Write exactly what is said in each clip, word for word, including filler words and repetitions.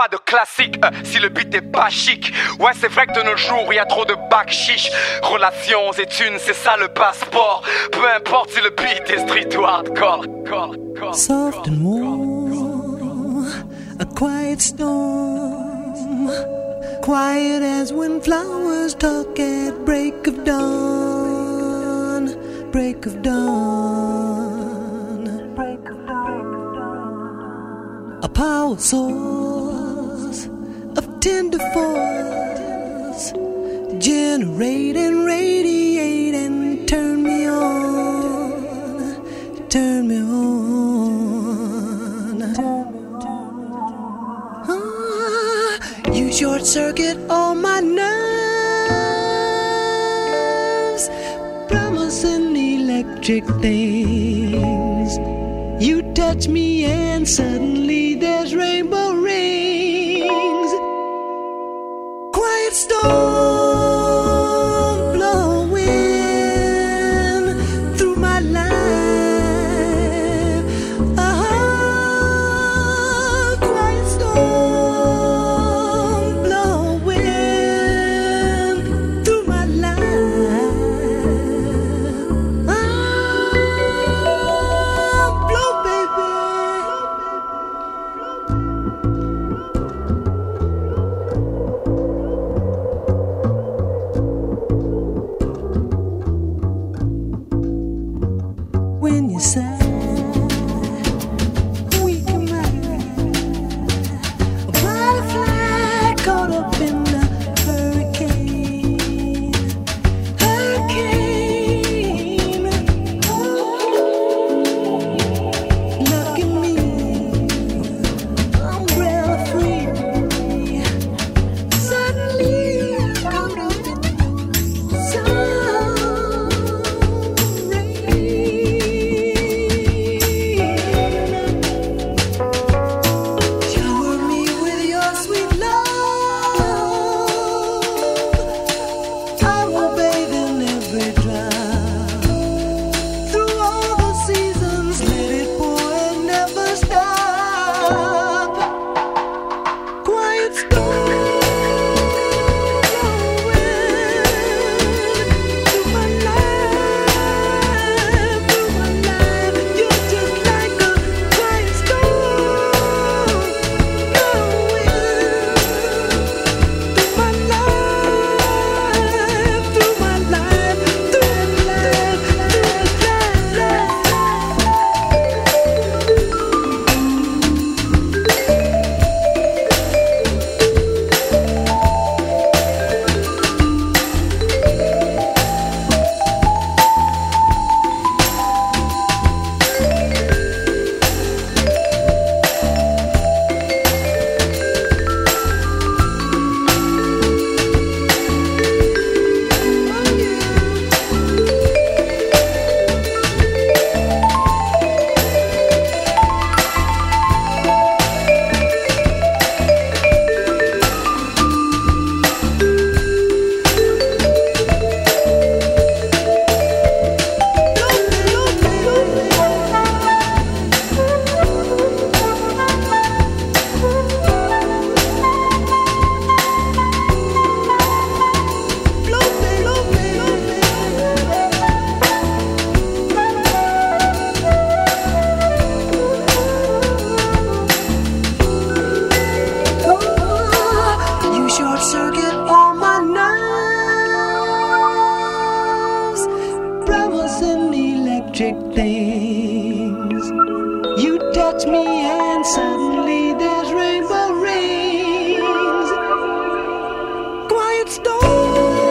pas de classique euh, si le beat est pas chic. Ouais, c'est vrai que de nos jours, il y a trop de bac chiche. Relations et thunes, c'est ça le passeport. Peu importe si le beat est street ou hardcore. Soft and warm, a quiet storm, quiet as when flowers talk at break of dawn, break of dawn, break of dawn. A power source of tender force, generate and radiate and turn me on, turn me on. You short circuit all my nerves, promising electric things. You touch me and suddenly there's rainbow rings. Quiet storm blowing through my life. Ah, quiet storm blowing through my life. Ah, blow, baby. When you sigh, we can ride. A butterfly caught up in the hurricane, hurricane. Look at me, umbrella free. Suddenly caught up in some shower me with your sweet love. I will bathe in every drop. Through all the seasons, let it pour and never stop. Quiet storm blowing through my life, through my life. You're just like a quiet storm blowing through my life, through my life, through my life, through my You short circuit all my nerves, promising electric things. You touch me and suddenly there's rainbow rings. Quiet storm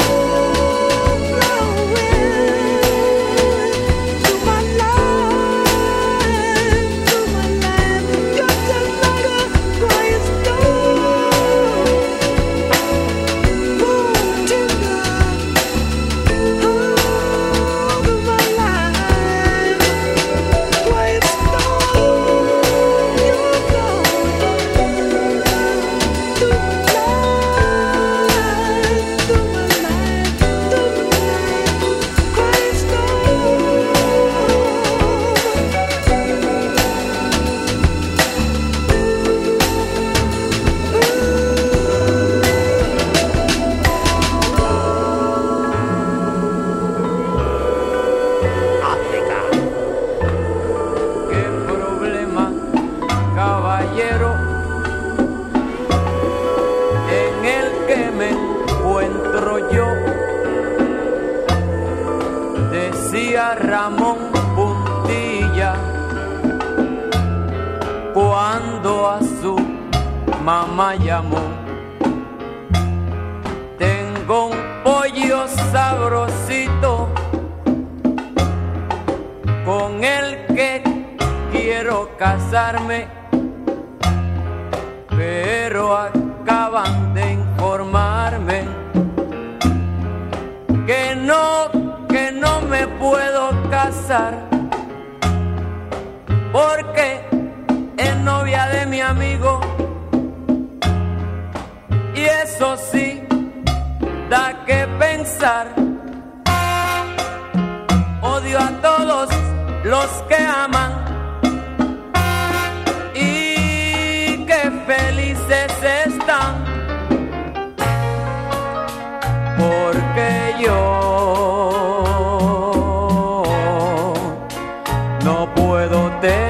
blowing through my life, through my life. You're just like a quiet storm. Boom, tender, oh, through my life. mamá llamó. Tengo un pollo sabrosito con el que quiero casarme, pero acaban de informarme que no, que no me puedo casar porque es novia de mi amigo, y eso sí da que pensar. Odio a todos los que aman y que felices están, porque yo no puedo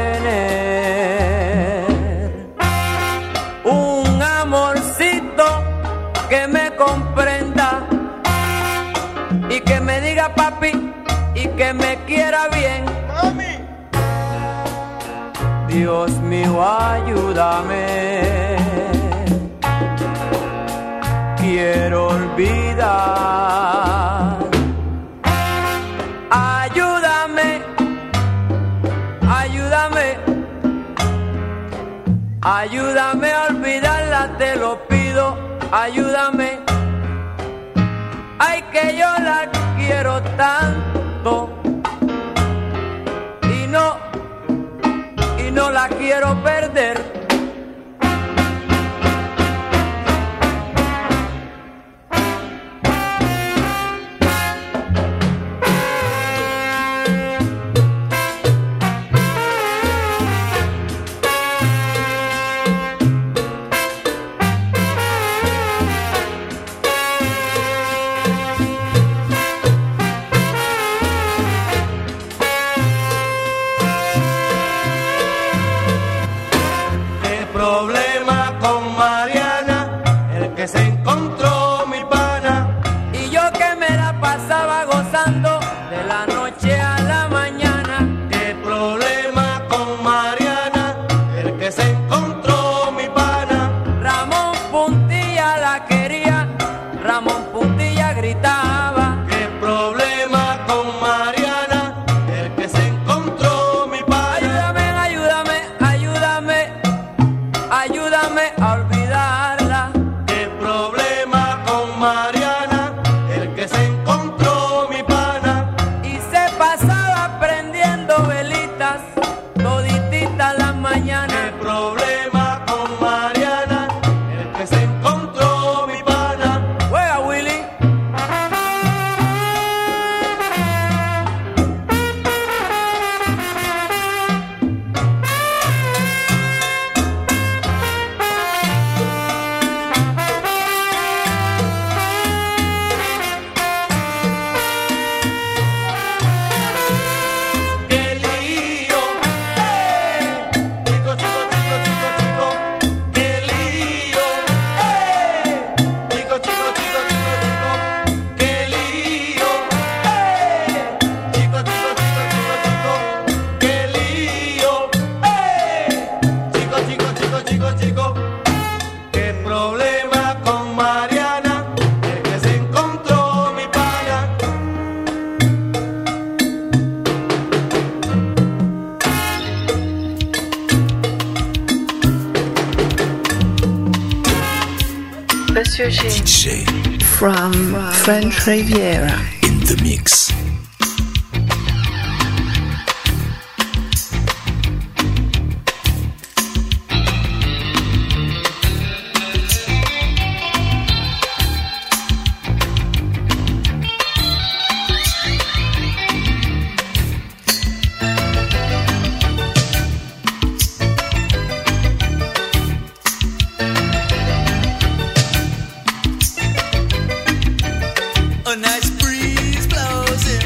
tener un amorcito que me comprenda y que me diga papi y que me quiera bien. Mami. Dios mío, ayúdame. Quiero olvidar. Ayúdame, ayúdame, ayúdame a olvidarla, te lo pido, ayúdame. Ay, que yo la quiero tanto y no, y no la quiero perder. D J from French Riviera in the mix. A nice breeze blows in.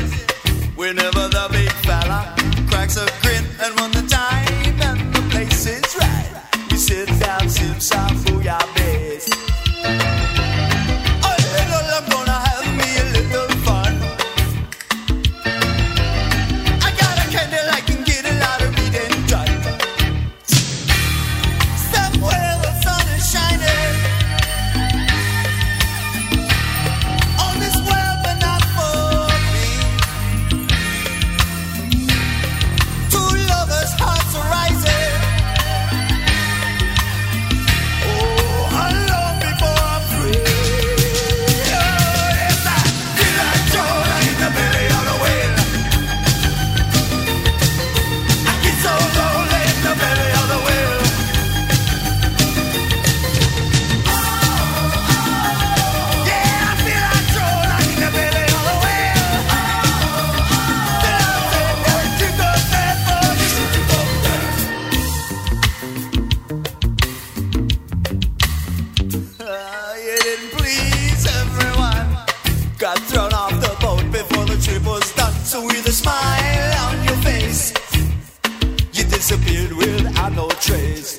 got thrown off the boat before the trip was done. So with a smile on your face, you disappeared without no trace.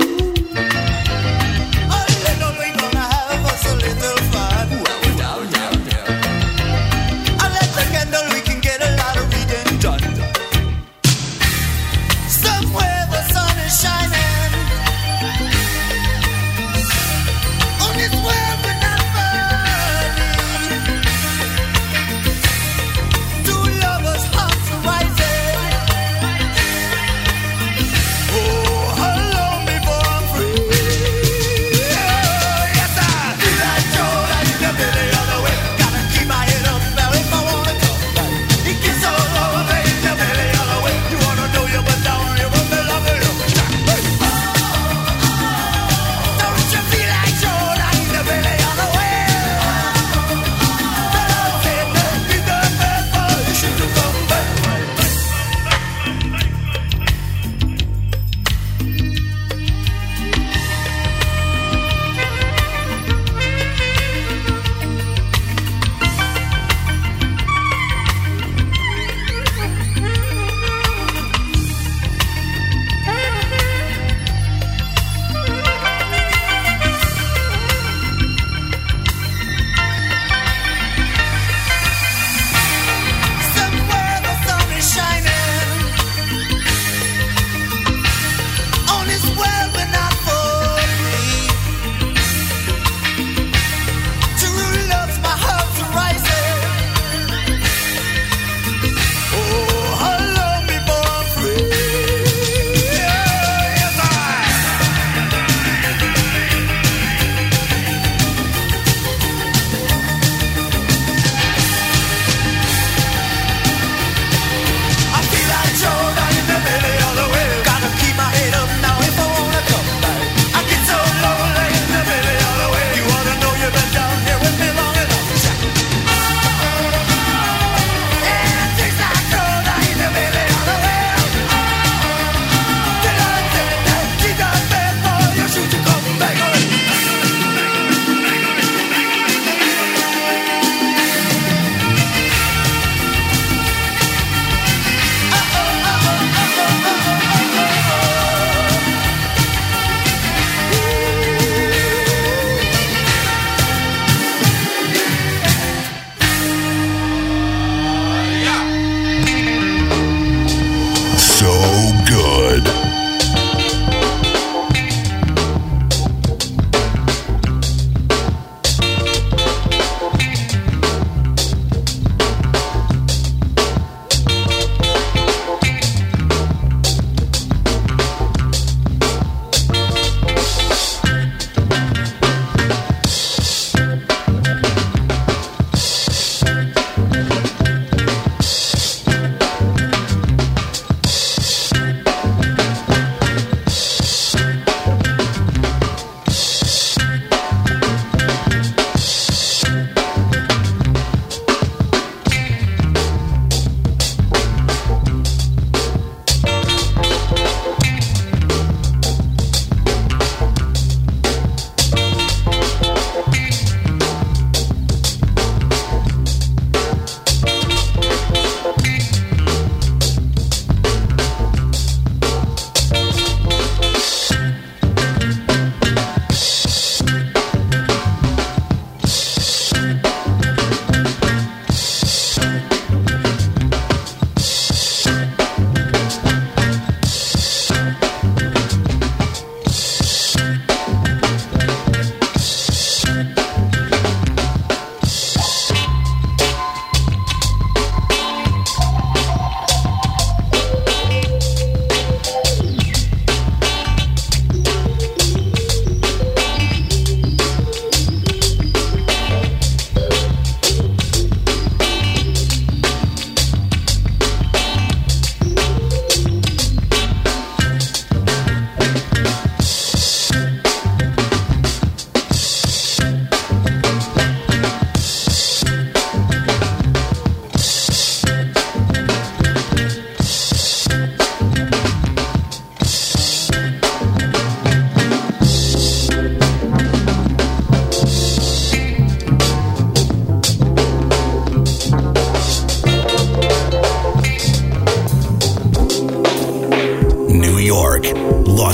A little we gonna have us a little fun. Well, down, down, down. I light the candle, we can get a lot of reading done. Somewhere the sun is shining on this world we're not burning. Two lovers' hearts are rising.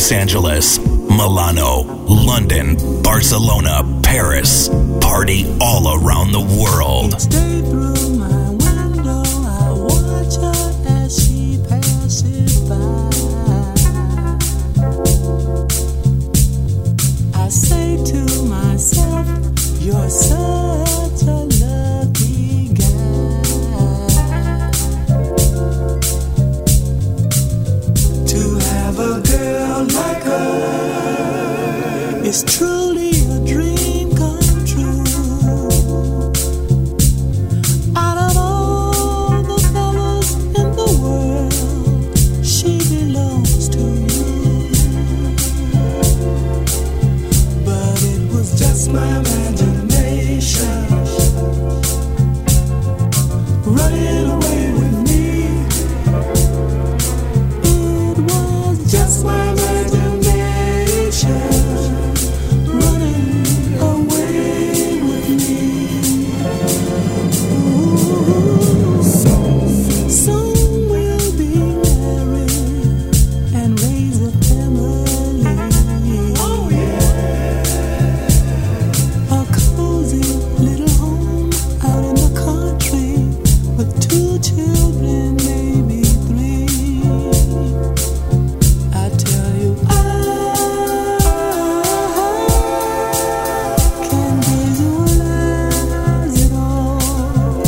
Los Angeles, Milano, London, Barcelona, Paris. Party all around the world. You're such a lucky guy to have a girl like her. It's truly a dream come true. Out of all the fellas in the world, she belongs to you. But it was just my imagination running away with me. It was just my imagination running away with me. Ooh. Soon we'll be married and raise a family. Oh yeah. A cozy little home out in the country with two children, maybe three. I tell you, I can visualize it all.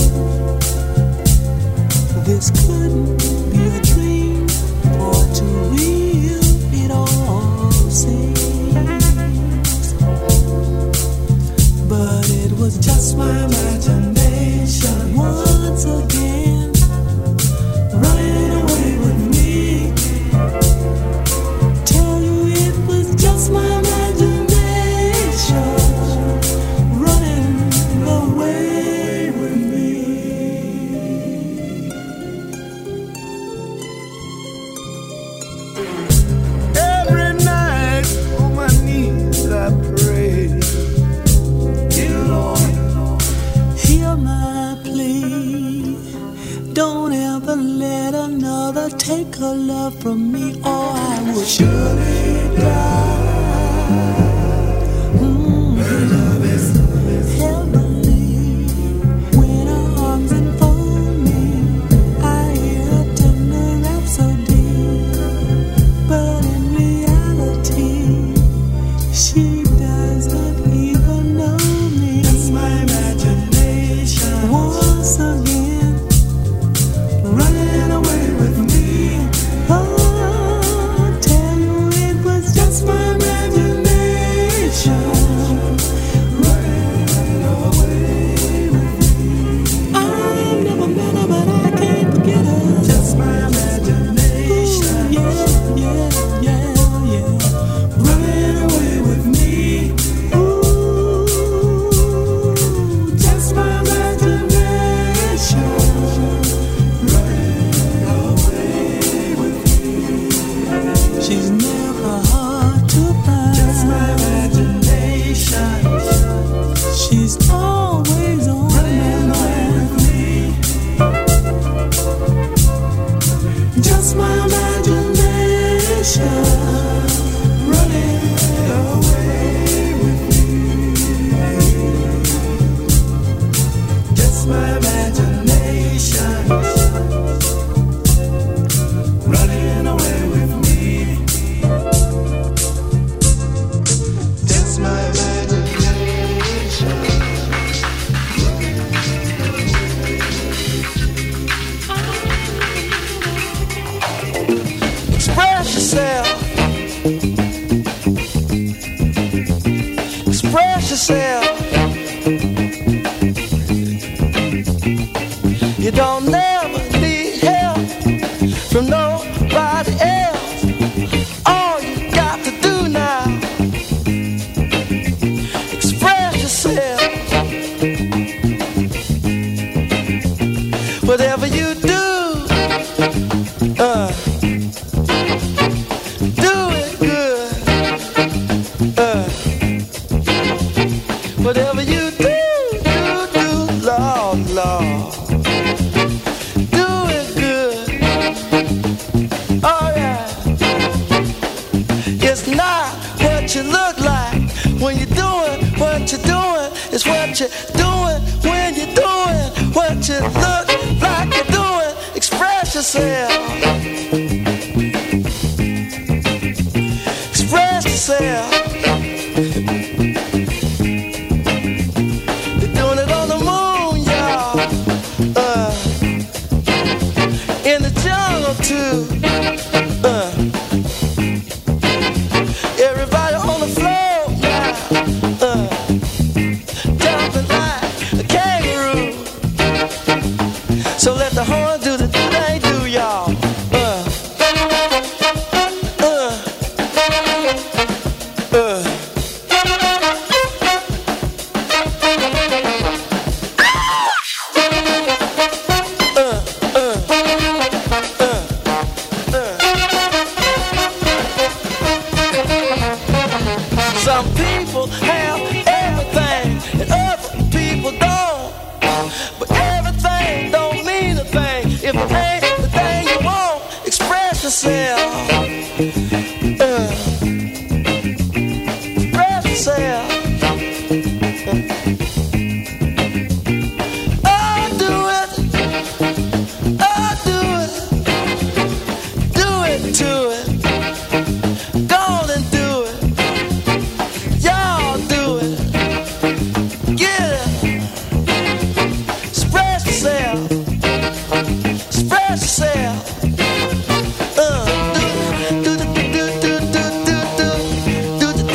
This couldn't be a dream, for too real it all seems. But it was just my imagination once again running away with me. Tell you it was just my imagination running away with me. Every night on my knees I pray, dear Lord, hear my plea. Don't ever let another take her love from me, or I will surely die. Mm. Heavenly, when her arms enfold me, I hear a tender rhapsody. But in reality, she does not even know me. That's my imagination once again running away with me. Oh, tell you it was just my imagination running away with me. I've never met her, but I can't forget her. Just my imagination. Ooh, yeah, yeah, yeah, yeah. Running away with me. Ooh, just my imagination running away with me. She's never hard to find. Just my imagination. She's always on running away with me. Just my imagination running away with me. Just my imagination running away with me. Just my imagination. Express yourself. Express yourself. You don't never need help from nobody else. All you got to do now, express yourself. Whatever you do, uh, do it good. Uh, whatever you do, do, do, Lord, Lord. Do it good. Oh yeah. You what you're doing is what you're doing when you're doing what you look like you're doing. Express yourself. Express yourself. You're doing it on the moon, y'all. Uh, in the jungle too. Uh, everybody on the floor now. Uh, jumping like a kangaroo. So let the horn do the thing they do, y'all. Uh, uh, uh. Some people have everything and other people don't. But everything don't mean a thing if it ain't the thing you want. Express yourself. Uh, express yourself. Oh, do it. Oh, do it. Do it to it. Go on and do it. Y'all do it. Get it. Express yourself. Express yourself. Uh, do do do do do do do do do do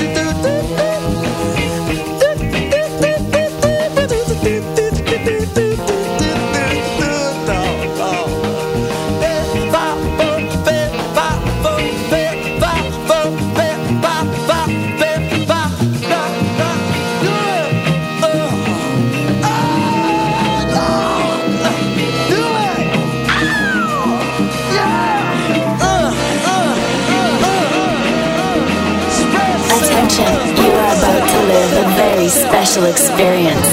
Attention, you are about to live a very special experience.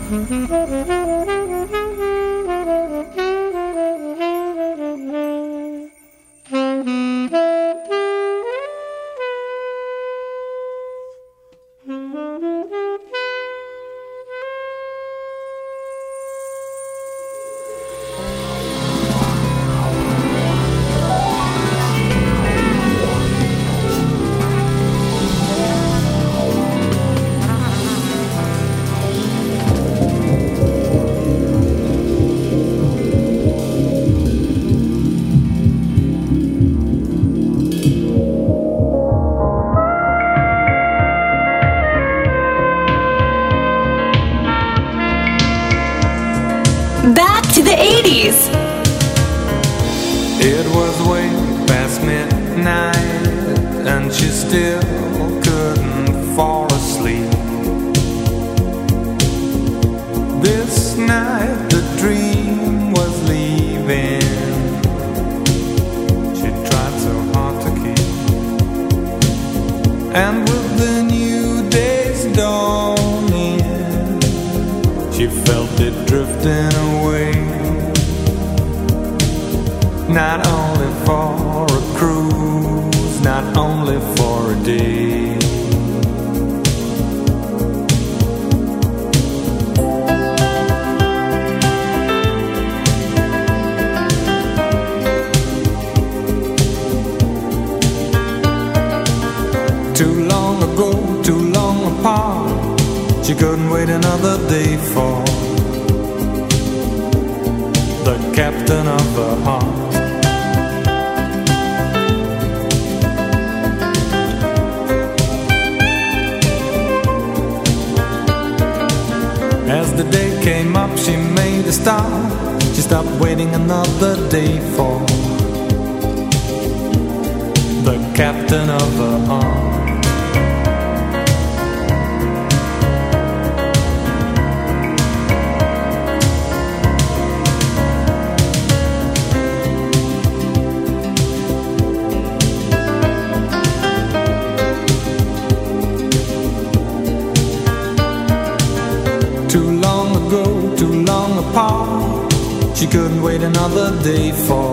Back to the eighties. It was way past midnight and she still couldn't fall asleep. This night the dream was leaving. She tried so hard to keep. And with the new day's dawning, she felt it drifting away. Not only for a cruise, not only for a day. Too long ago, too long apart, she couldn't wait another day for the captain of her heart. As the day came up, she made a start. She stopped waiting another day for the captain of her heart. Apart, she couldn't wait another day for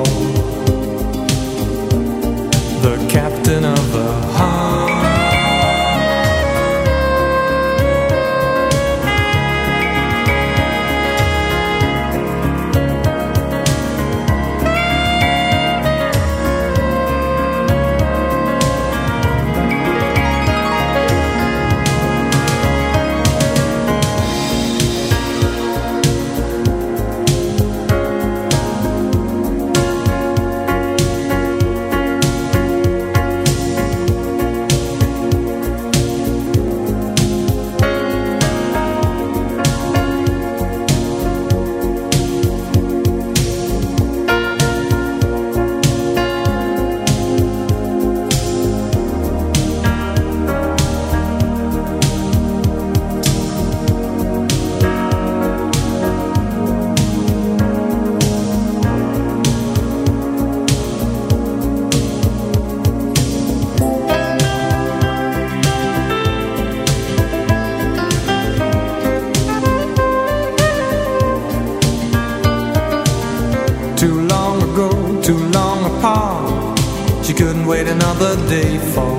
the captain of her heart. Wait another day for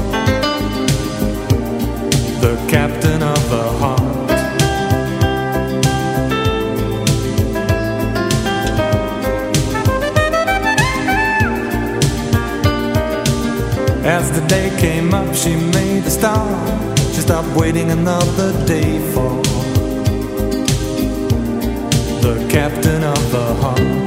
the captain of her heart. As the day came up, she made a start. She stopped waiting another day for the captain of her heart.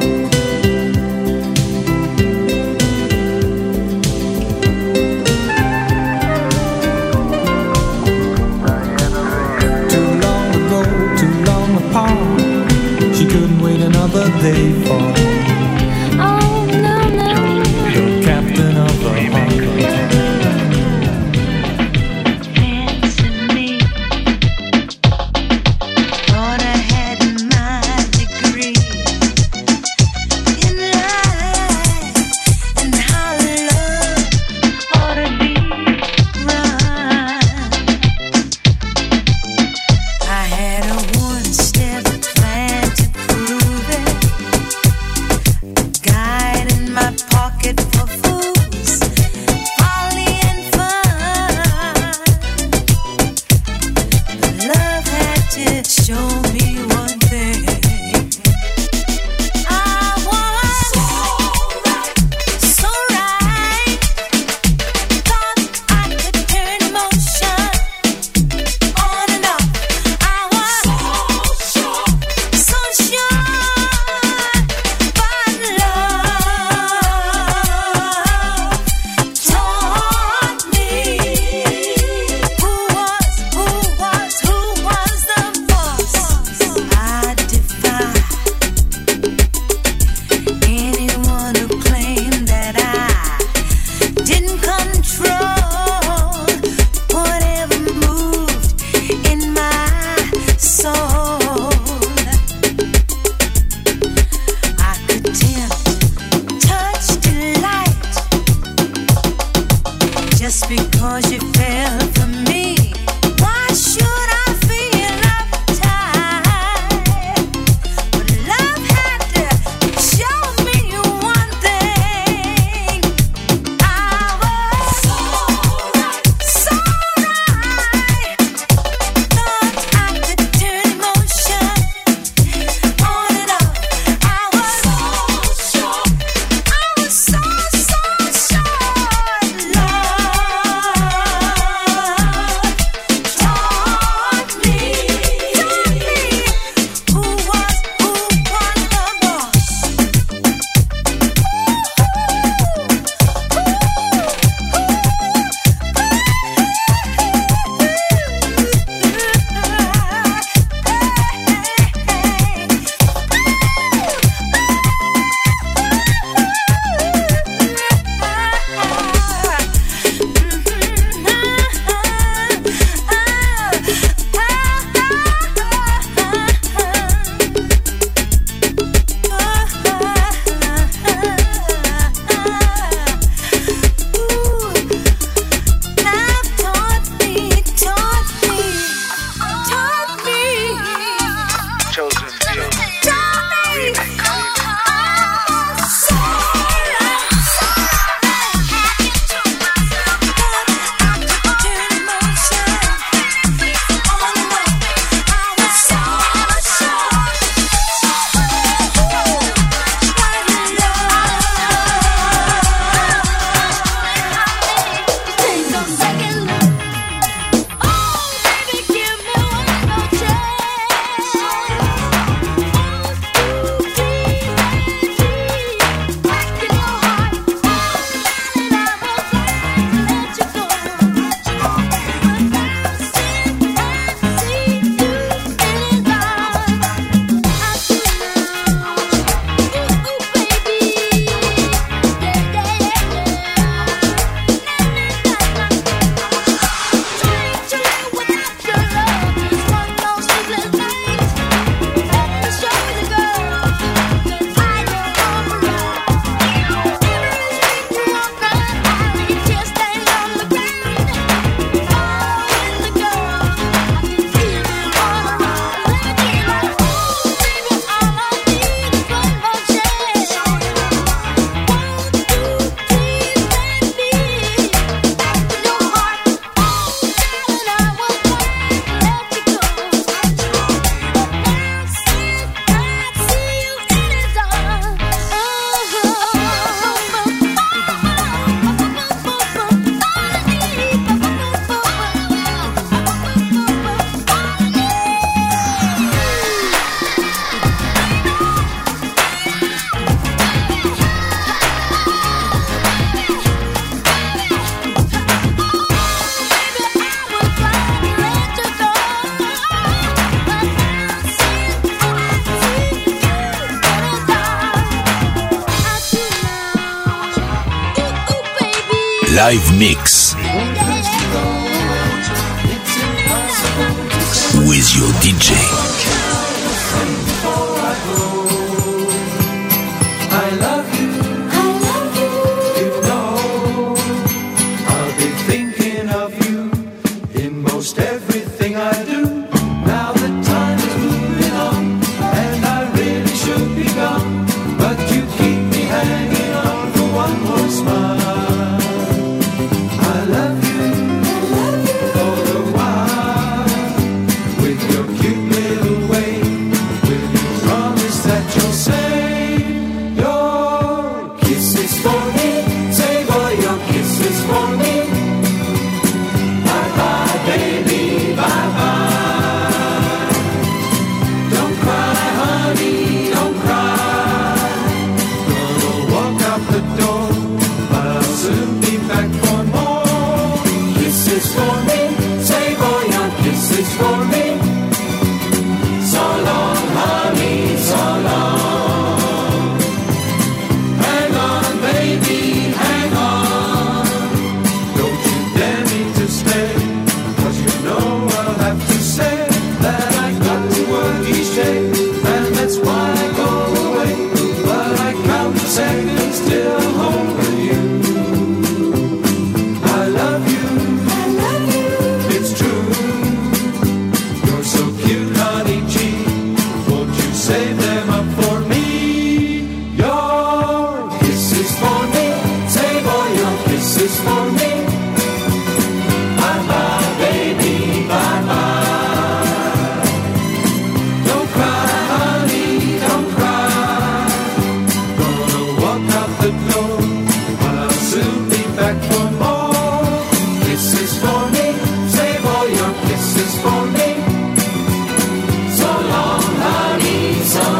She couldn't wait another day for oh, no, no, the captain of her heart. Fancy me, thought I had my degree in life and how love ought to be run. I had her once. Live Mix with your D J. So long, honey, so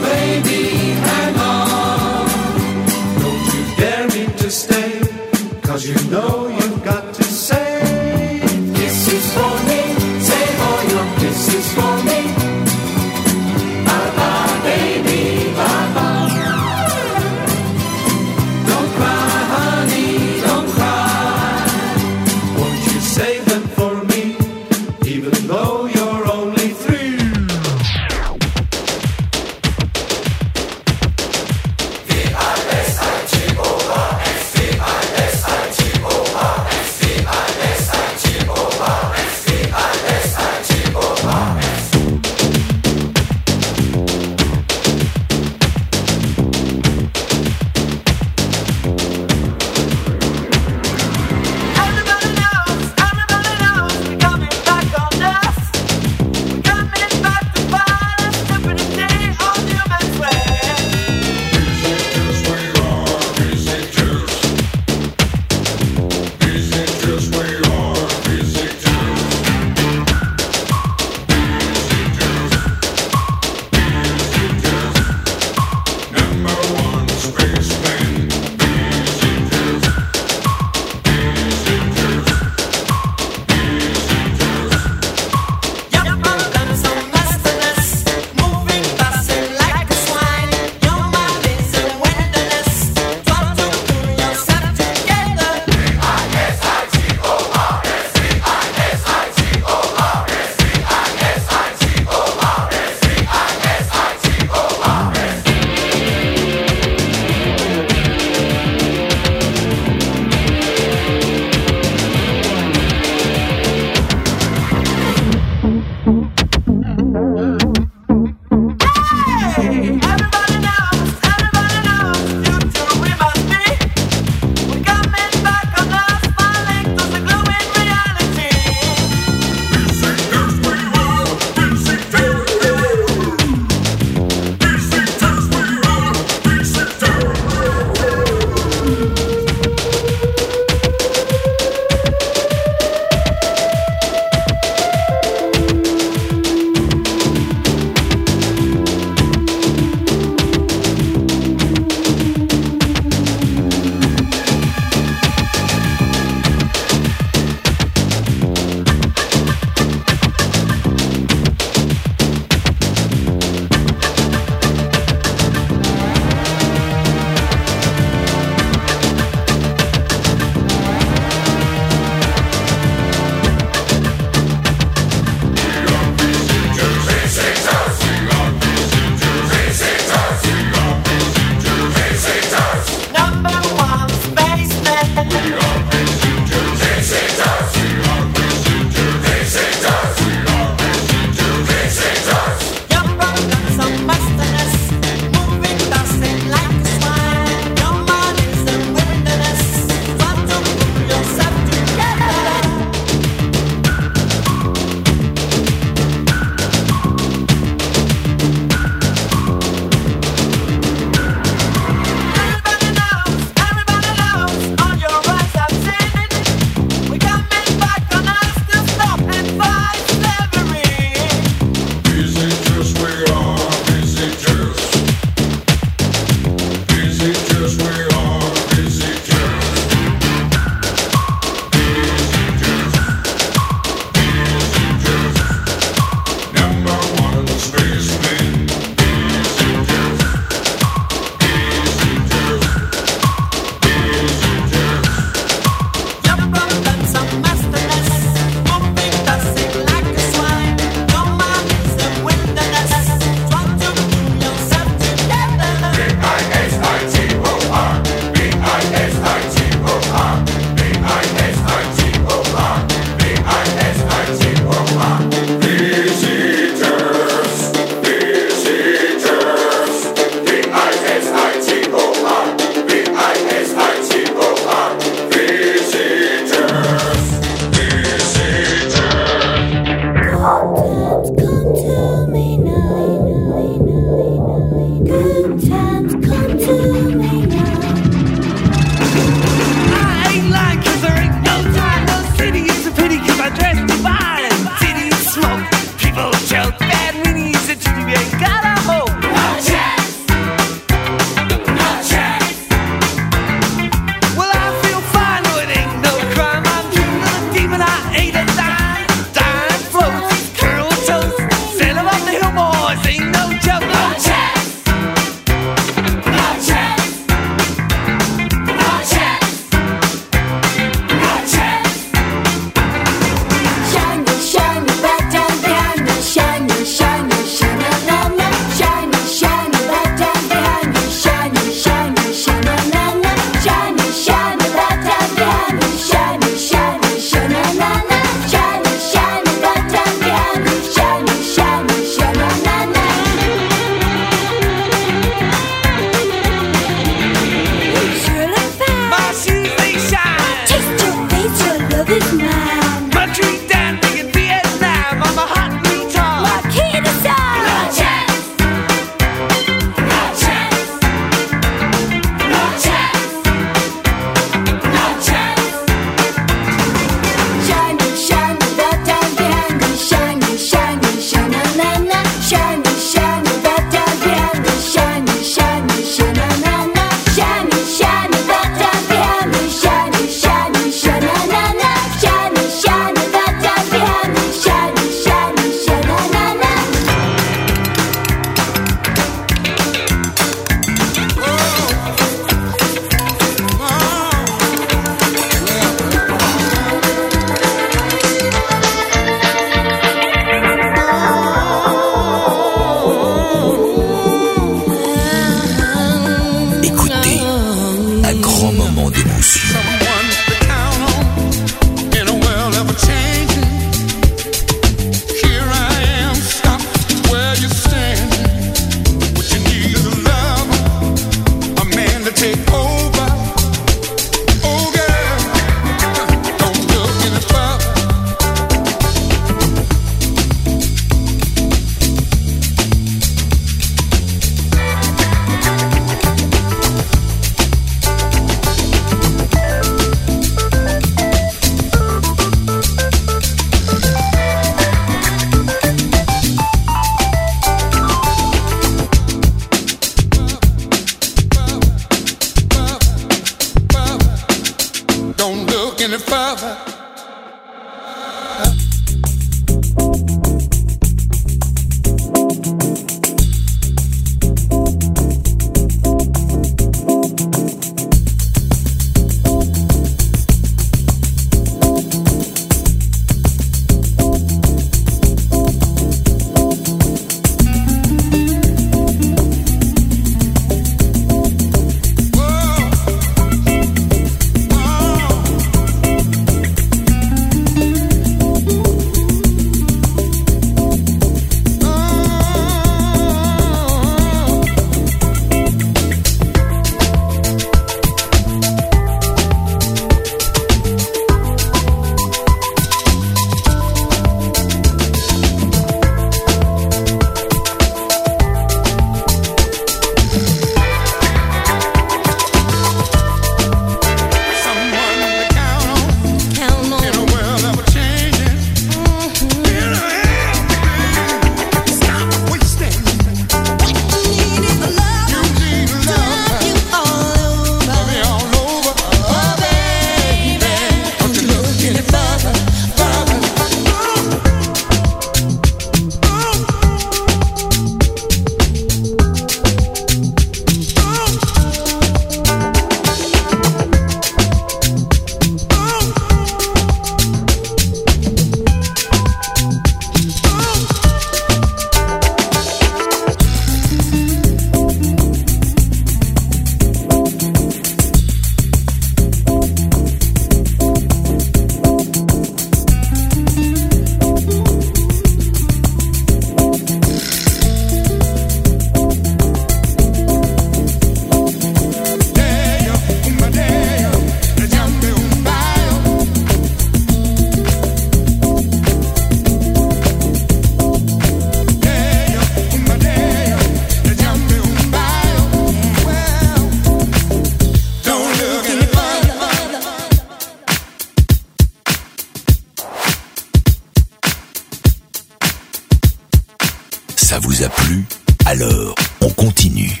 Ça vous a plu? Alors, on continue.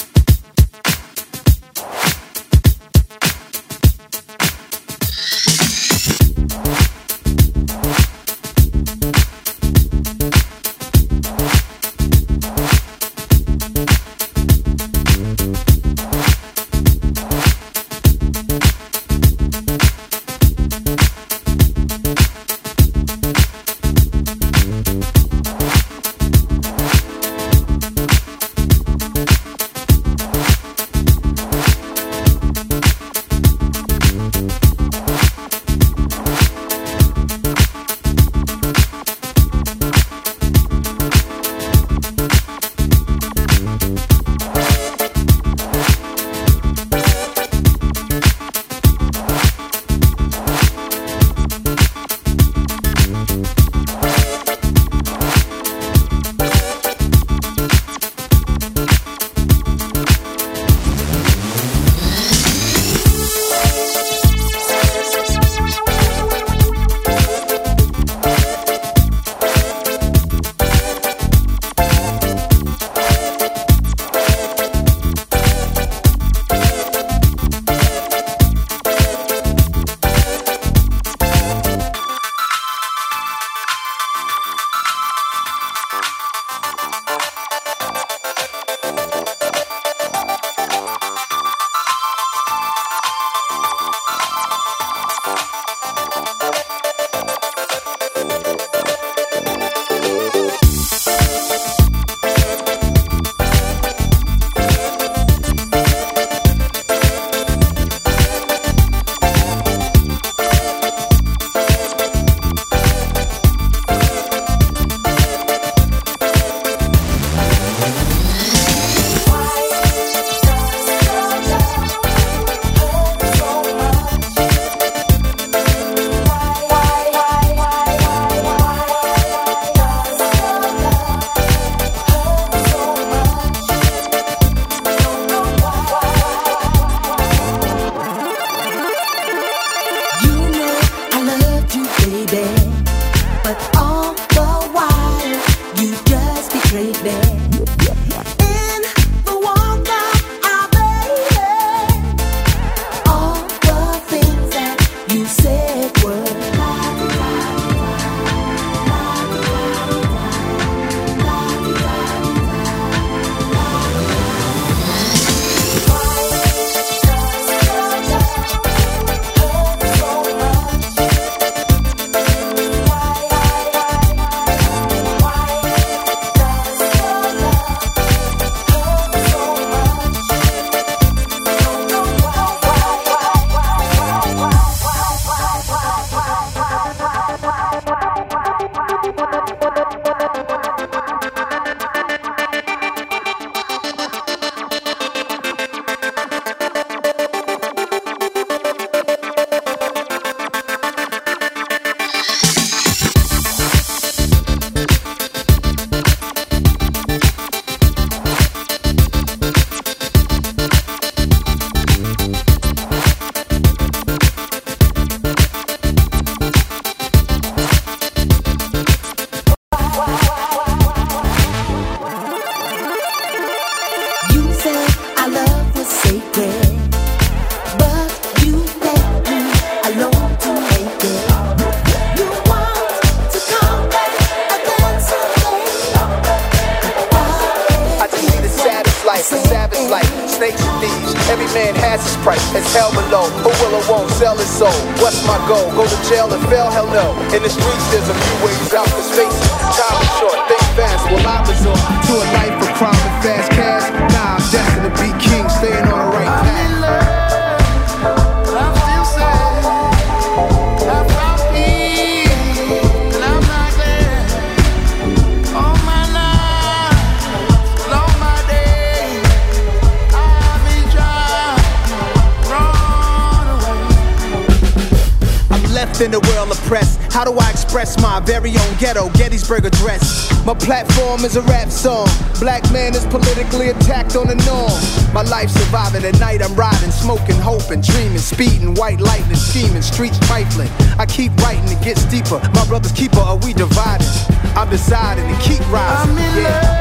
In the world oppressed, how do I express my very own ghetto Gettysburg Address? My platform is a rap song. Black man is politically attacked on the norm. My life surviving at night, I'm riding, smoking, hoping, dreaming, speeding, white lightning, scheming, streets trifling. I keep writing, it gets deeper. My brother's keeper, are we divided? I'm deciding to keep rising. I'm in yeah. love.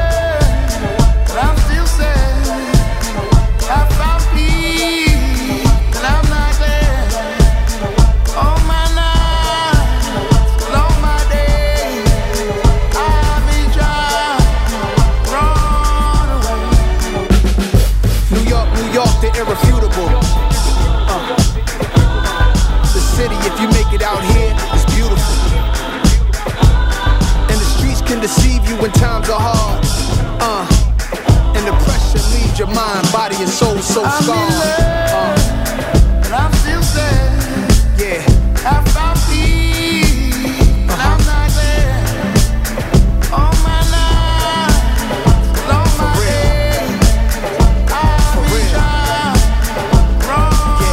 can deceive you when times are hard. Uh, and the pressure leaves your mind, body, and soul so I'm scarred. in love, uh, but I'm still sad. Yeah. I found peace, but uh-huh. I'm not there. All my life, all my days, I've been trying wrong.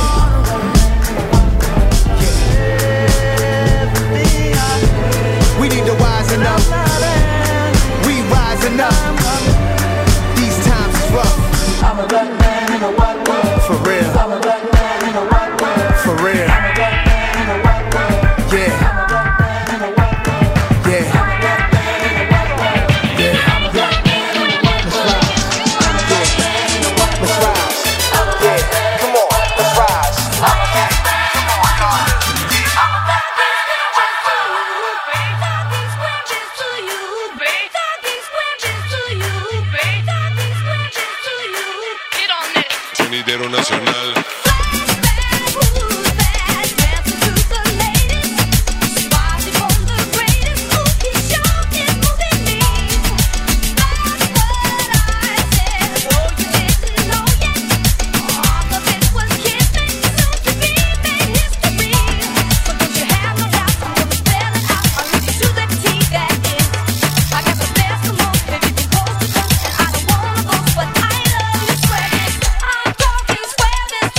Yeah. Yeah. We need to wisen up. We rising up. These times is rough. I'm a black man in a white world. For real. I'm a black man in a white world. For real. I'm a black man in a white world. Yeah. I'm a black man in a white world. Yeah. I'm a black man in a white world. Yeah. I'm a black man in a white world. I'm a black man in a white world. Let's rise. Yeah. Come on. Let's rise. I'm a black man in a white world. I'm a black man in a white world. Break down these branches to you. Break down these branches to you. Break down these branches to you. Get on this. Sonidero Nacional. I'm talking swear this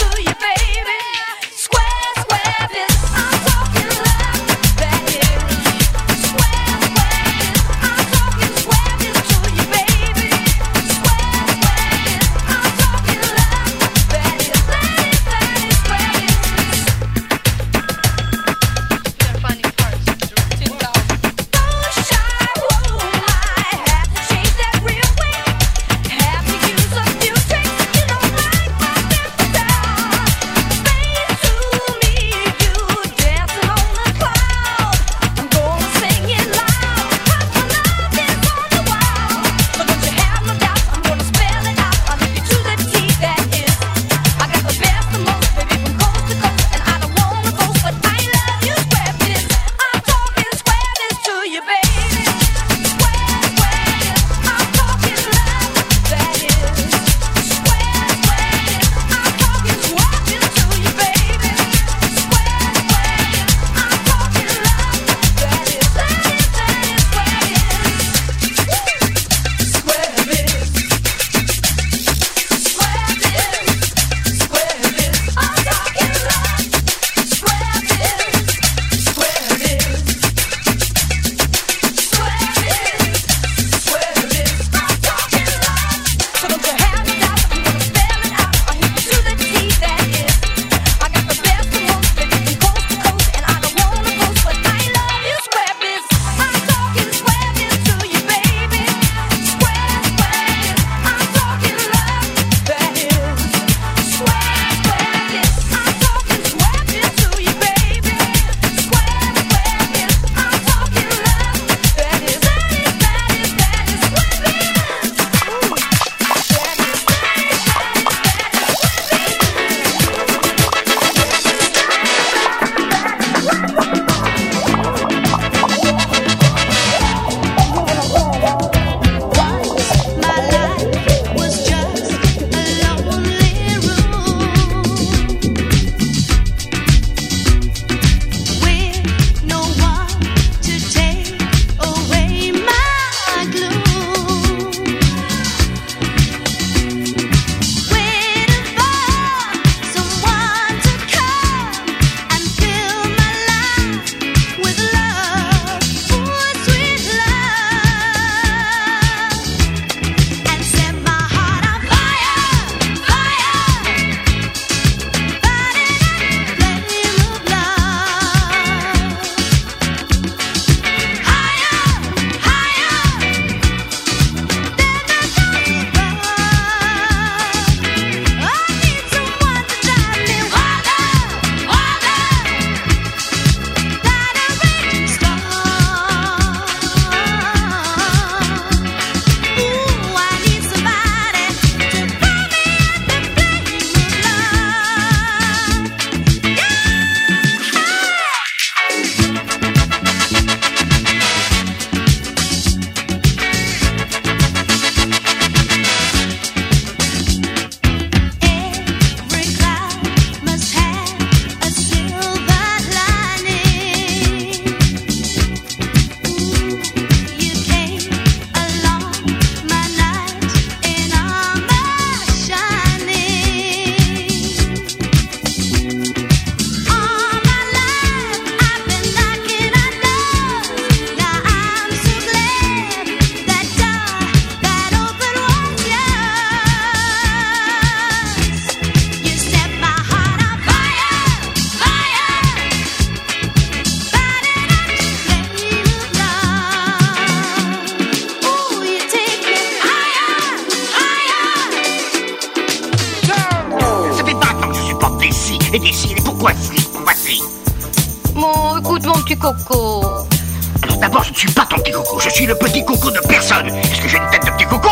petit coco. Alors d'abord, je ne suis pas ton petit coco, je suis le petit coco de personne. Est-ce que j'ai une tête de petit coco?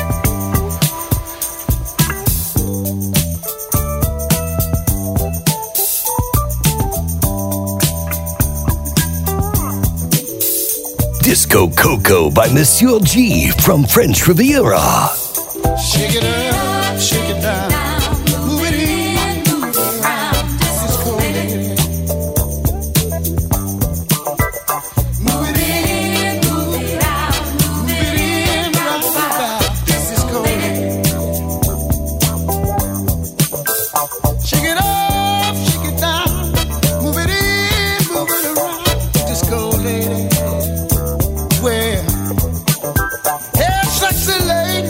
Disco Coco by Monsieur G from French Riviera. Shake it up, shake it down. Move it in, move it around. Disco lady. Move it in, move it out. Move it in, round about. Disco lady. Shake it up, shake it down. Move it in, move it around. Disco lady. Well, hey, sexy lady.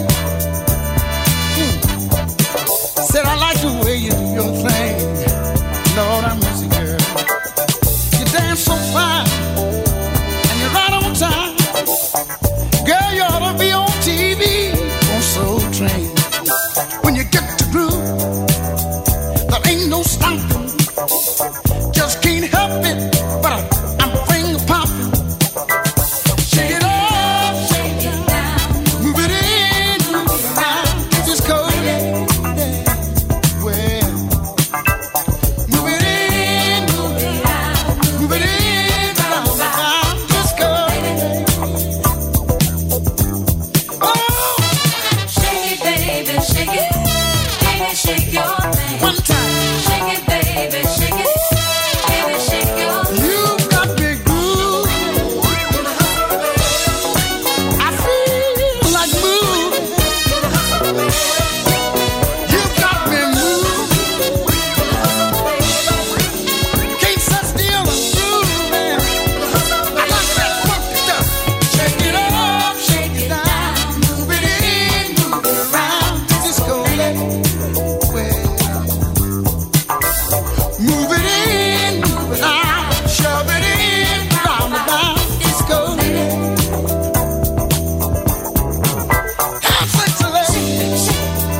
Hmm. Said I like the way you do your thing. Lord, I miss you, girl. You dance so fine, and you're right on time. Girl, you ought to be on T V on Soul Train. When you get to groove, there ain't no stopping. Just can't help it, but I, I'm finger popping. Shake it up, shake it down, move it in, move it around, just go there. Well, move it in, move it out, move it in, round, round, just go there. Oh, Shake it, baby, shake it. Baby, shake your thing. one time, Shake it, baby, shake it. Baby, shake your thing. you got me groove. I feel like moving. You got me moving. Can't sit still, I'm grooving. I like that funky stuff. Shake it up, shake it down, move it in, move it around. Disco lady. Well, move it in, move it out, shove it in, round and round. Disco lady. Have sex, lady.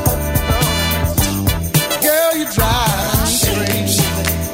Girl, you drive me crazy.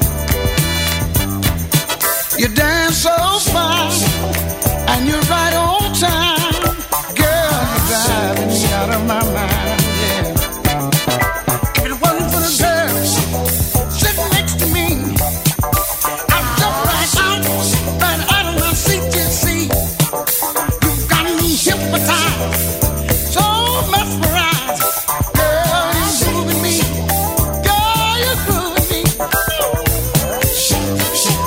You dance so fine, and you're right on time. Girl, you're driving me out of my mind, yeah. If it wasn't for the girl sitting next to me, I'd jump right out, right out of my seat, you see. You got me hypnotized, so mesmerized. Girl, you're moving me. Girl, you're grooving me. Shake, shake.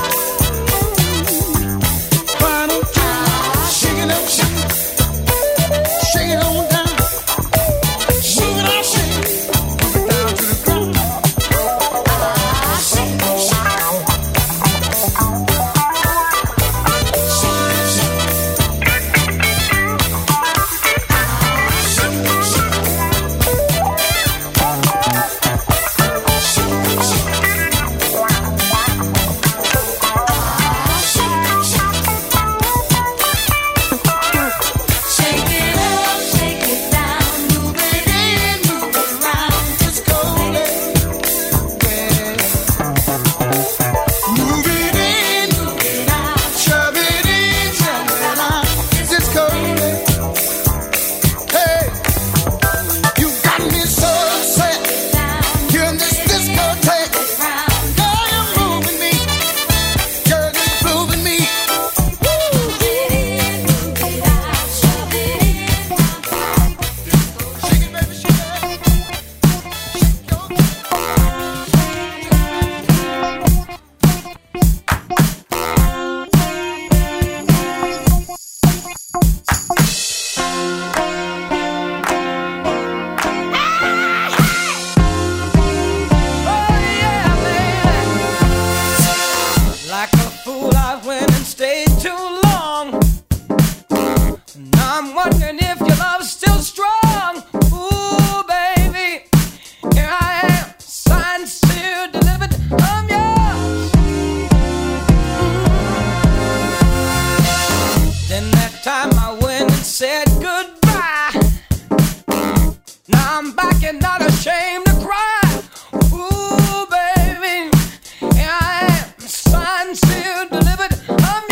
Why don't you shake it up, shake it. Shake it on down. Move it out, shake it. Move it down to the ground. Shake, shake. Shake it up, shake it down, move it in, move it around. Just go there. Move it in, Move it out. shove it in, shove it out. Just go there. Hey, you got me so upset. You're in this discotheque. Girl, you're moving me. Girl, you're grooving me. Shake it, baby, shake it. Like a fool, I went and stayed too long. Now I'm wondering if your love's still strong. Ooh, baby, here I am, signed, sealed, delivered. I'm yours. Then that time I went and said goodbye. Now I'm back and not ashamed to cry. Ooh, baby, here I am, signed, sealed, delivered. I'm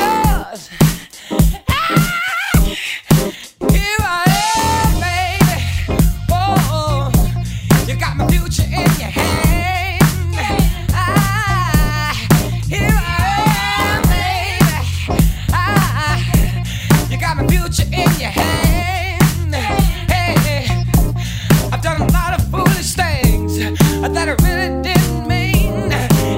future in your hand. Hey, hey, I've done a lot of foolish things that I really didn't mean.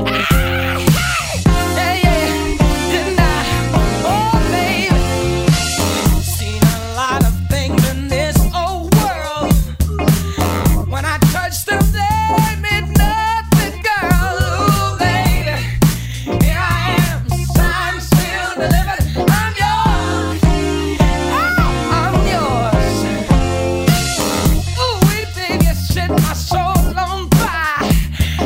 Hey, yeah, didn't I? Oh, baby, seen a lot of things in this old world. When I touched them, they meant nothing, girl. Ooh, baby, here I am, signed, sealed, delivered. I'm yours. Oh, I'm yours. Ooh, we baby, you set my soul on fire.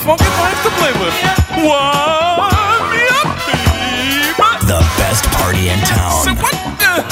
funky things to play with. Wind me up, baby. The best party in town. Say what? Uh,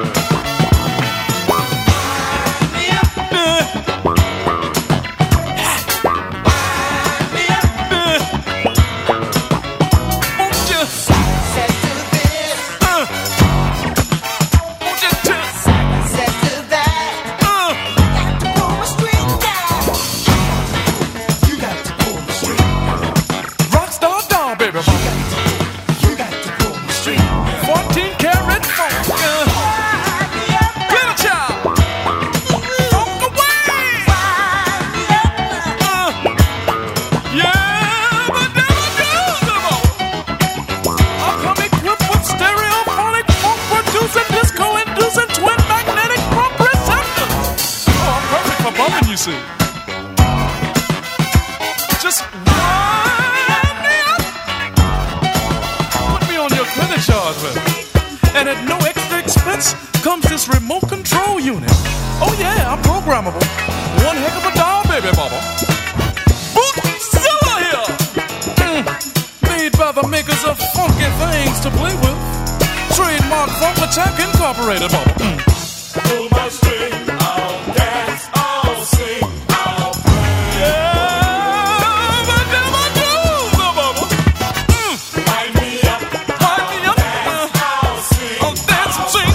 just wind me up. Put me on your credit charge, baby. And at no extra expense comes this remote control unit. Oh yeah, I'm programmable. One heck of a doll, baby mama. Bootzilla here. Mm. Made by the makers of funky things to play with. Trademark Funk Attack Incorporated, mama. Mm. Pull my string, I'll dance, I'll sing, I'll play. Yeah, but never do, the mama. Mm. Wind me up, wind me up. Dance, I'll sing, I'll dance and sing.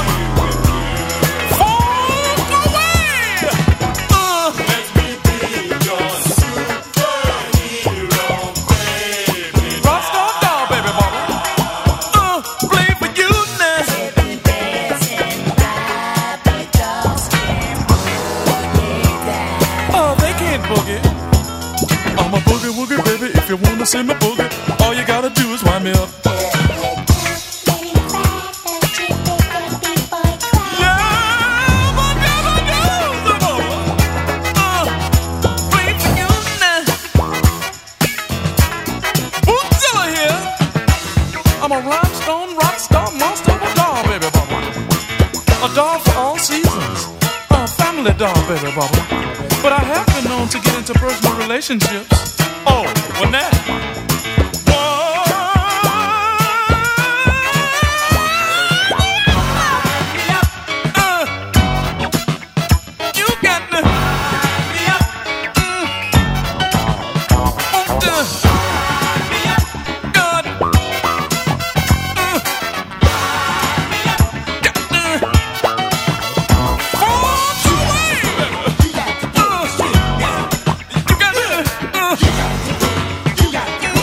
Funk away. Uh. Let me be your superhero, baby. Rockstar doll, baby mama. Uh, play for you now. Boogie. I'm a boogie woogie, baby. If you wanna see me boogie, all you gotta do is wind me up. Yeah, but never do the more. Uh, play for you now. Bootzilla here. I'm a rhinestone, rock star, monster of a doll, baby bubba. A doll for all seasons. A family doll, baby bubba. But I have been known to get into personal relationships. Oh, when that? Uh, you got to. Mm, oh, uh, God. Uh, uh,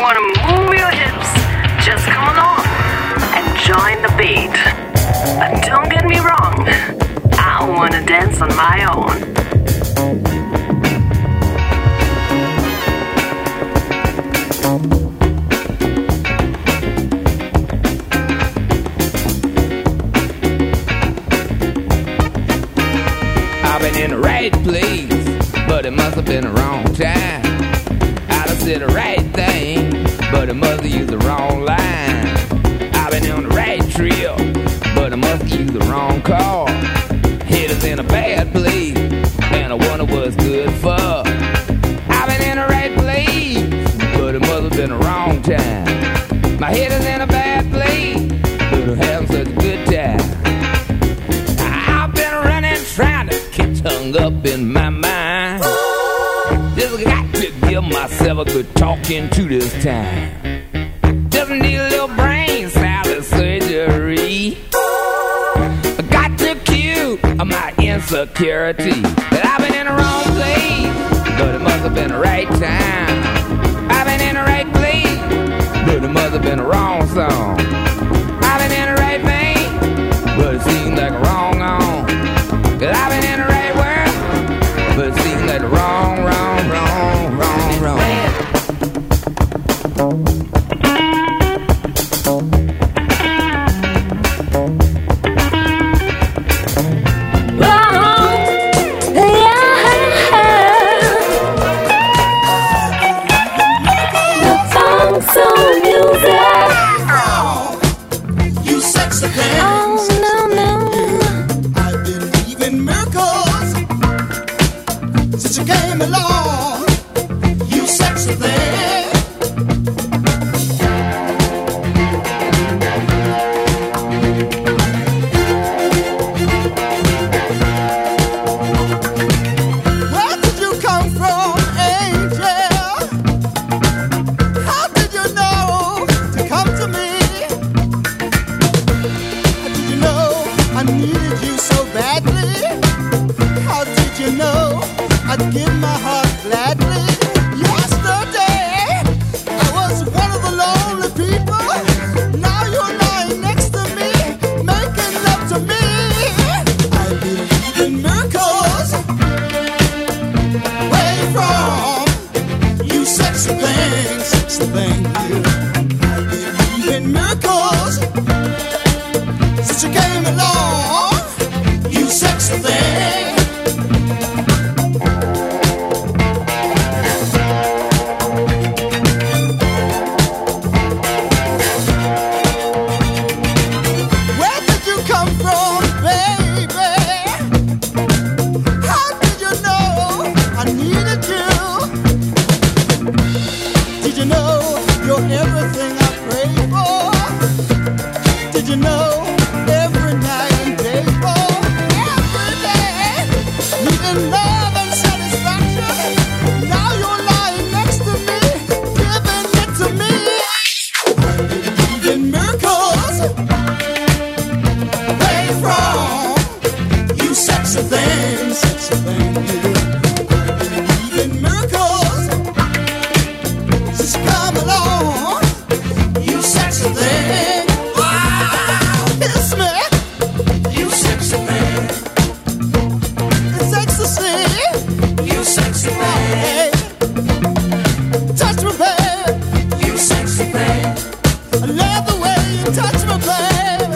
wanna move your hips, just come along and join the beat. But don't get me wrong, I wanna dance on my own. I've been in the right place, but it must have been the wrong time. I'd have said the right thing, but it must have used the wrong line. I've been on the right trail, but I must have used the wrong car. Head is in a bad place, and I wonder what's good for. I've been in the right place, but it must have been the wrong time. My head is in a bad place, but I'm having such a good time. I've been running, trying to get hung up in my mind. Just got to give myself a good talking to this time. Just need a little brain salad surgery. I got to cue my insecurity that I've been in the wrong place, but it must have been the right time. I've been in the right place, but it must have been the wrong song. I've been in the right vein, but it seems like a wrong on. That I've been in the right world, but it seems like the wrong, wrong, wrong, wrong, wrong.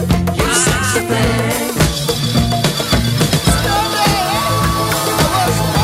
I was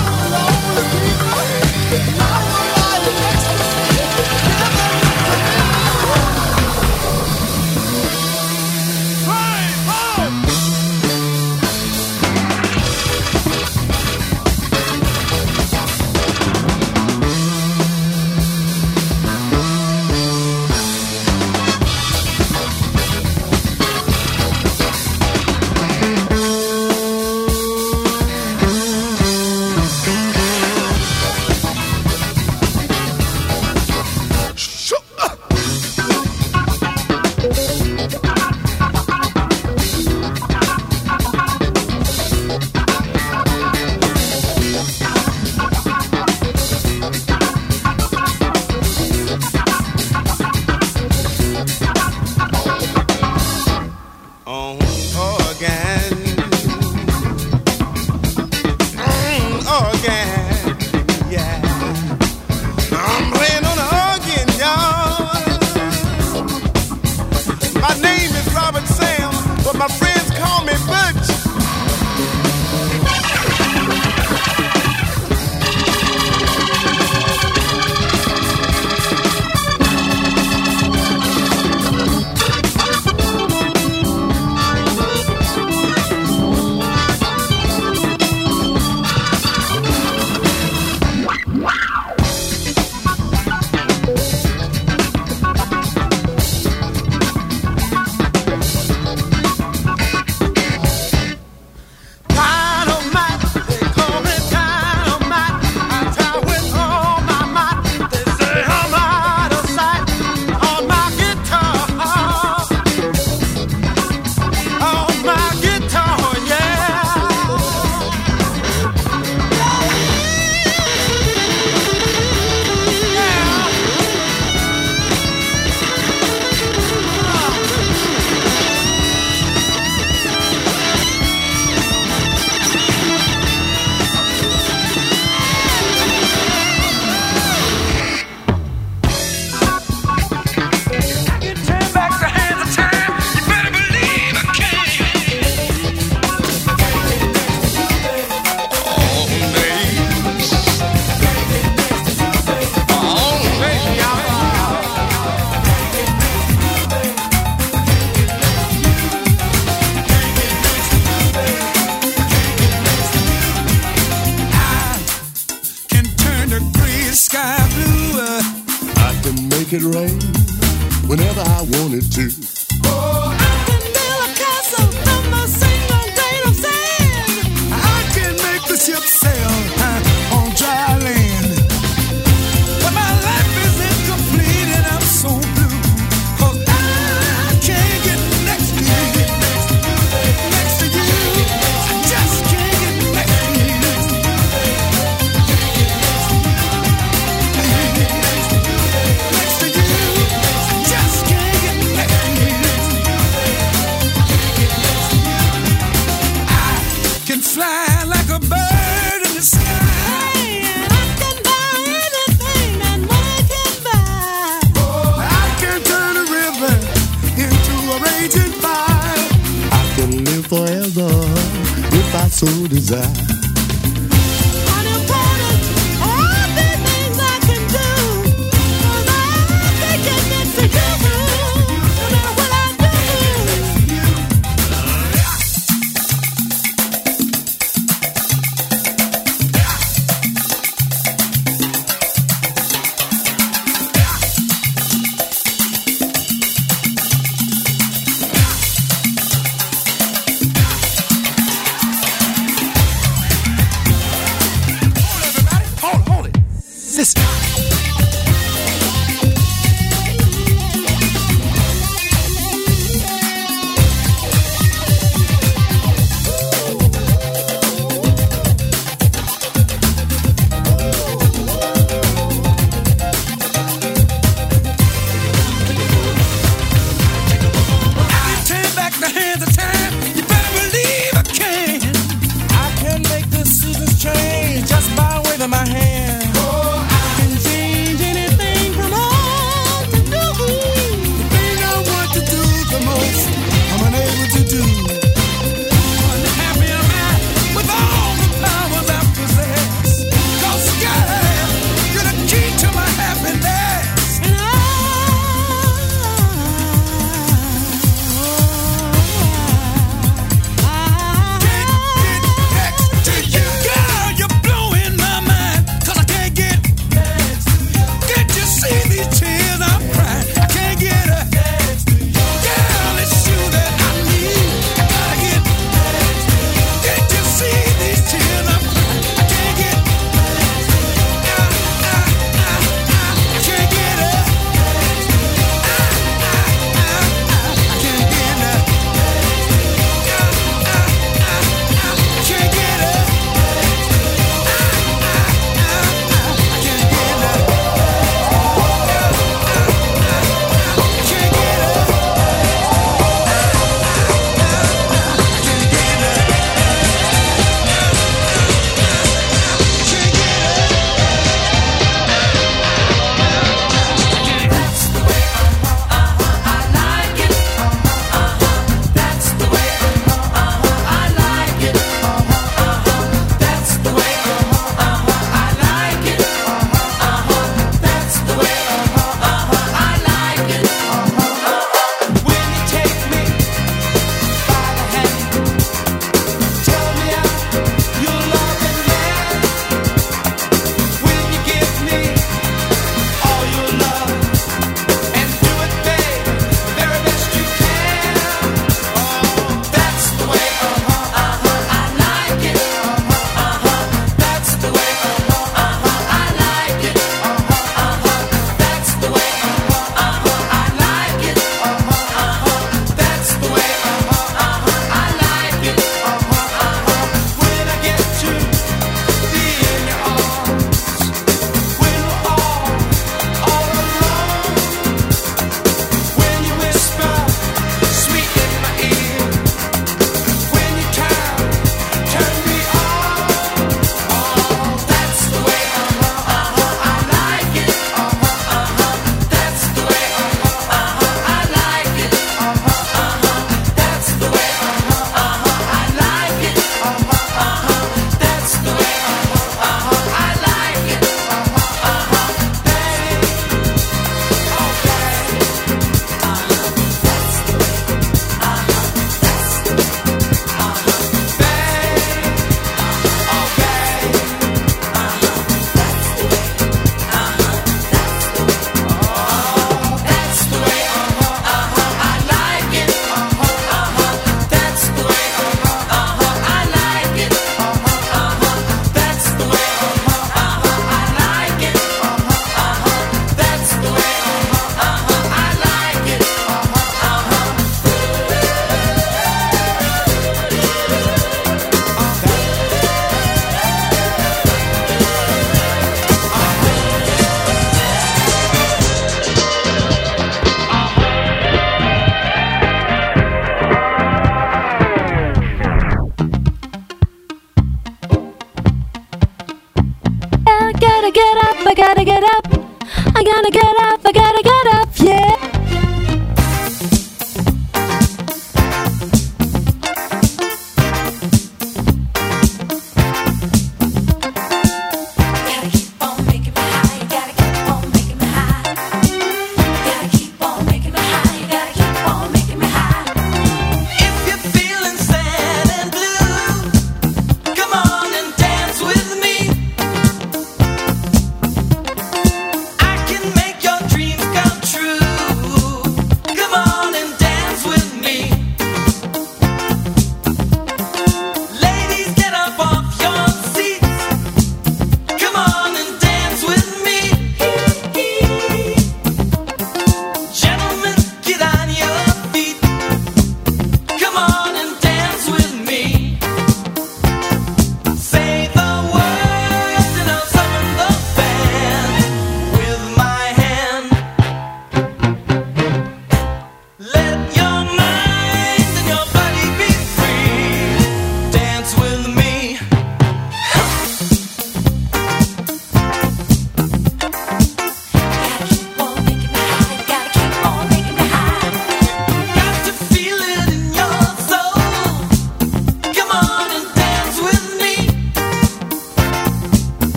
make it rain whenever I wanted to. Oh, I can build a castle from a single grain of sand. I can make the ship sail uh, on dry land. But my life is incomplete and I'm so blue, 'cause I can't get next to you. Next to you. I just can't get next to you. Next to you. I just can't get next to you. I can fly like a bird in the sky. And I can buy anything that money can buy. Oh, I can turn a river into a raging fire. I can live forever if I so desire. Unimportant, all the things I can do. 'Cause I can get next to you, no matter what I do. gotta get up, I gotta get up. I gotta get up, I gotta get up, yeah.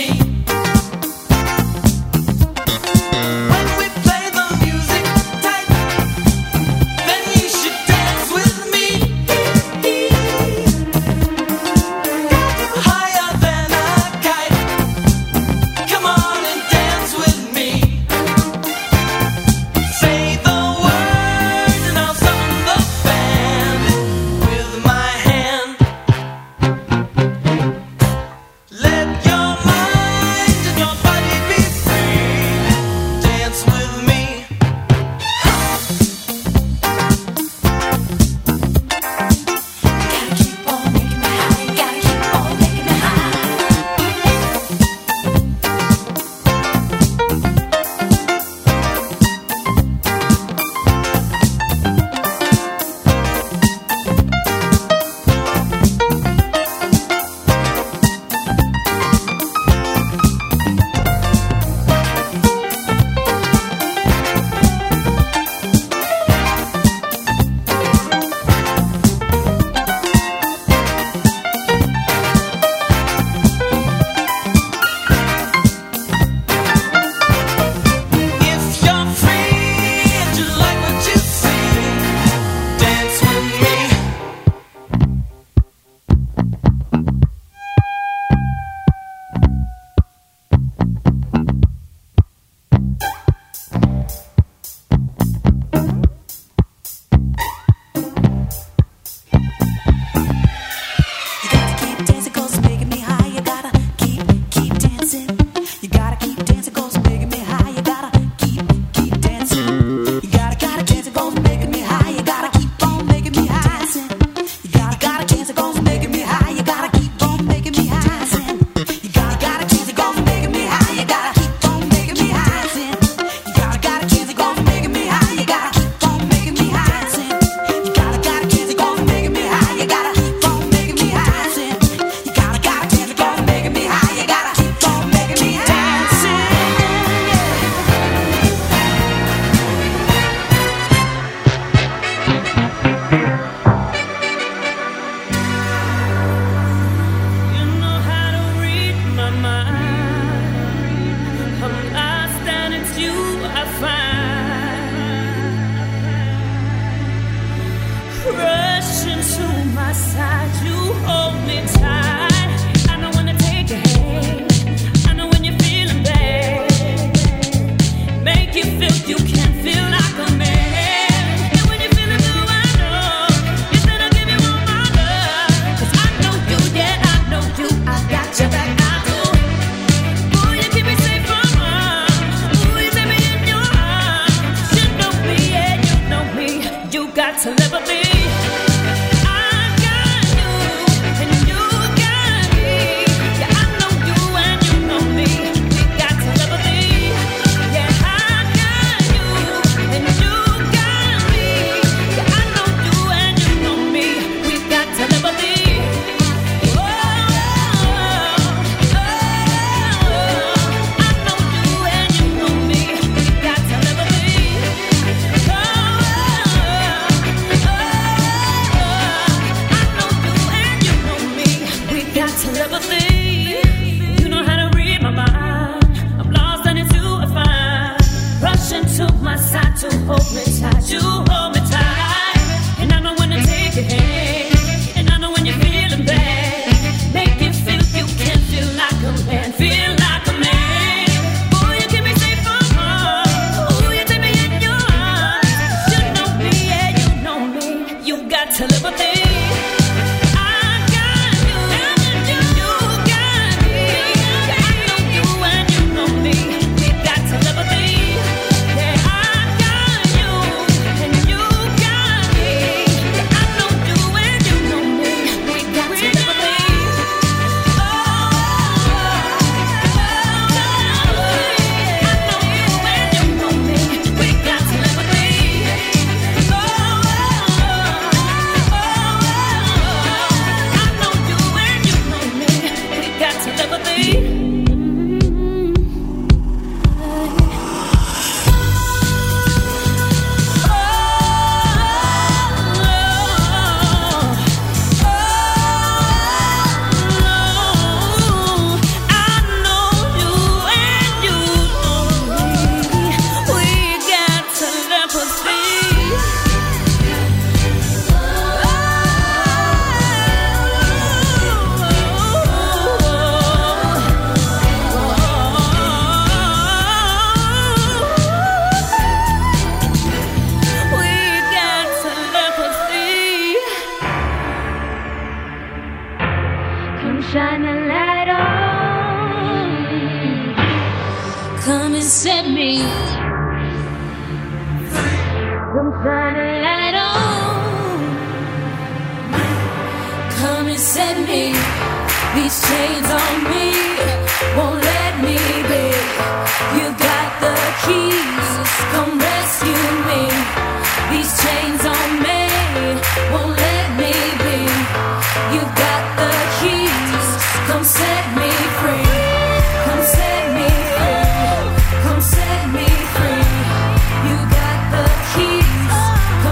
When we play the music tight shine a light on. Come and set me. Come shine a light on. Come and set me. These chains on me won't let me be. You got the keys. Come rescue me. These chains on me won't let me be. You got the keys. Come set me free. Come set me free. Come set me free. You got the keys. Come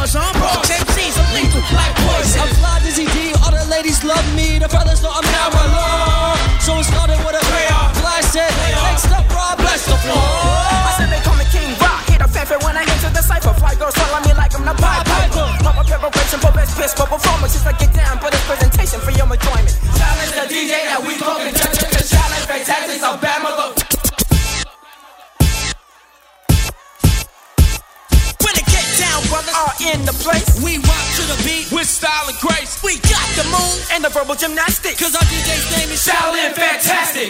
boys, I'm boss. M Cs, I'm lethal like poison. I'm fly Dizzy D, all the ladies love me. The fellas know I'm now alone. So it started with a blast it. Next up, Rob, bless the floor. I said they call me King Rock. Hit a fanfare when I enter the cypher. Fly girls follow me like I'm the Pied Piper. Pop up preparation for best piss for performances. I get down for this presentation for your enjoyment. Challenge the D J that we talking. The challenge fantastic, so bad mother. When it get down, brothers are in the place. We rock to the beat with style and grace. We got the move and the verbal gymnastics. Cause our D J's name is Shaolin Fantastic.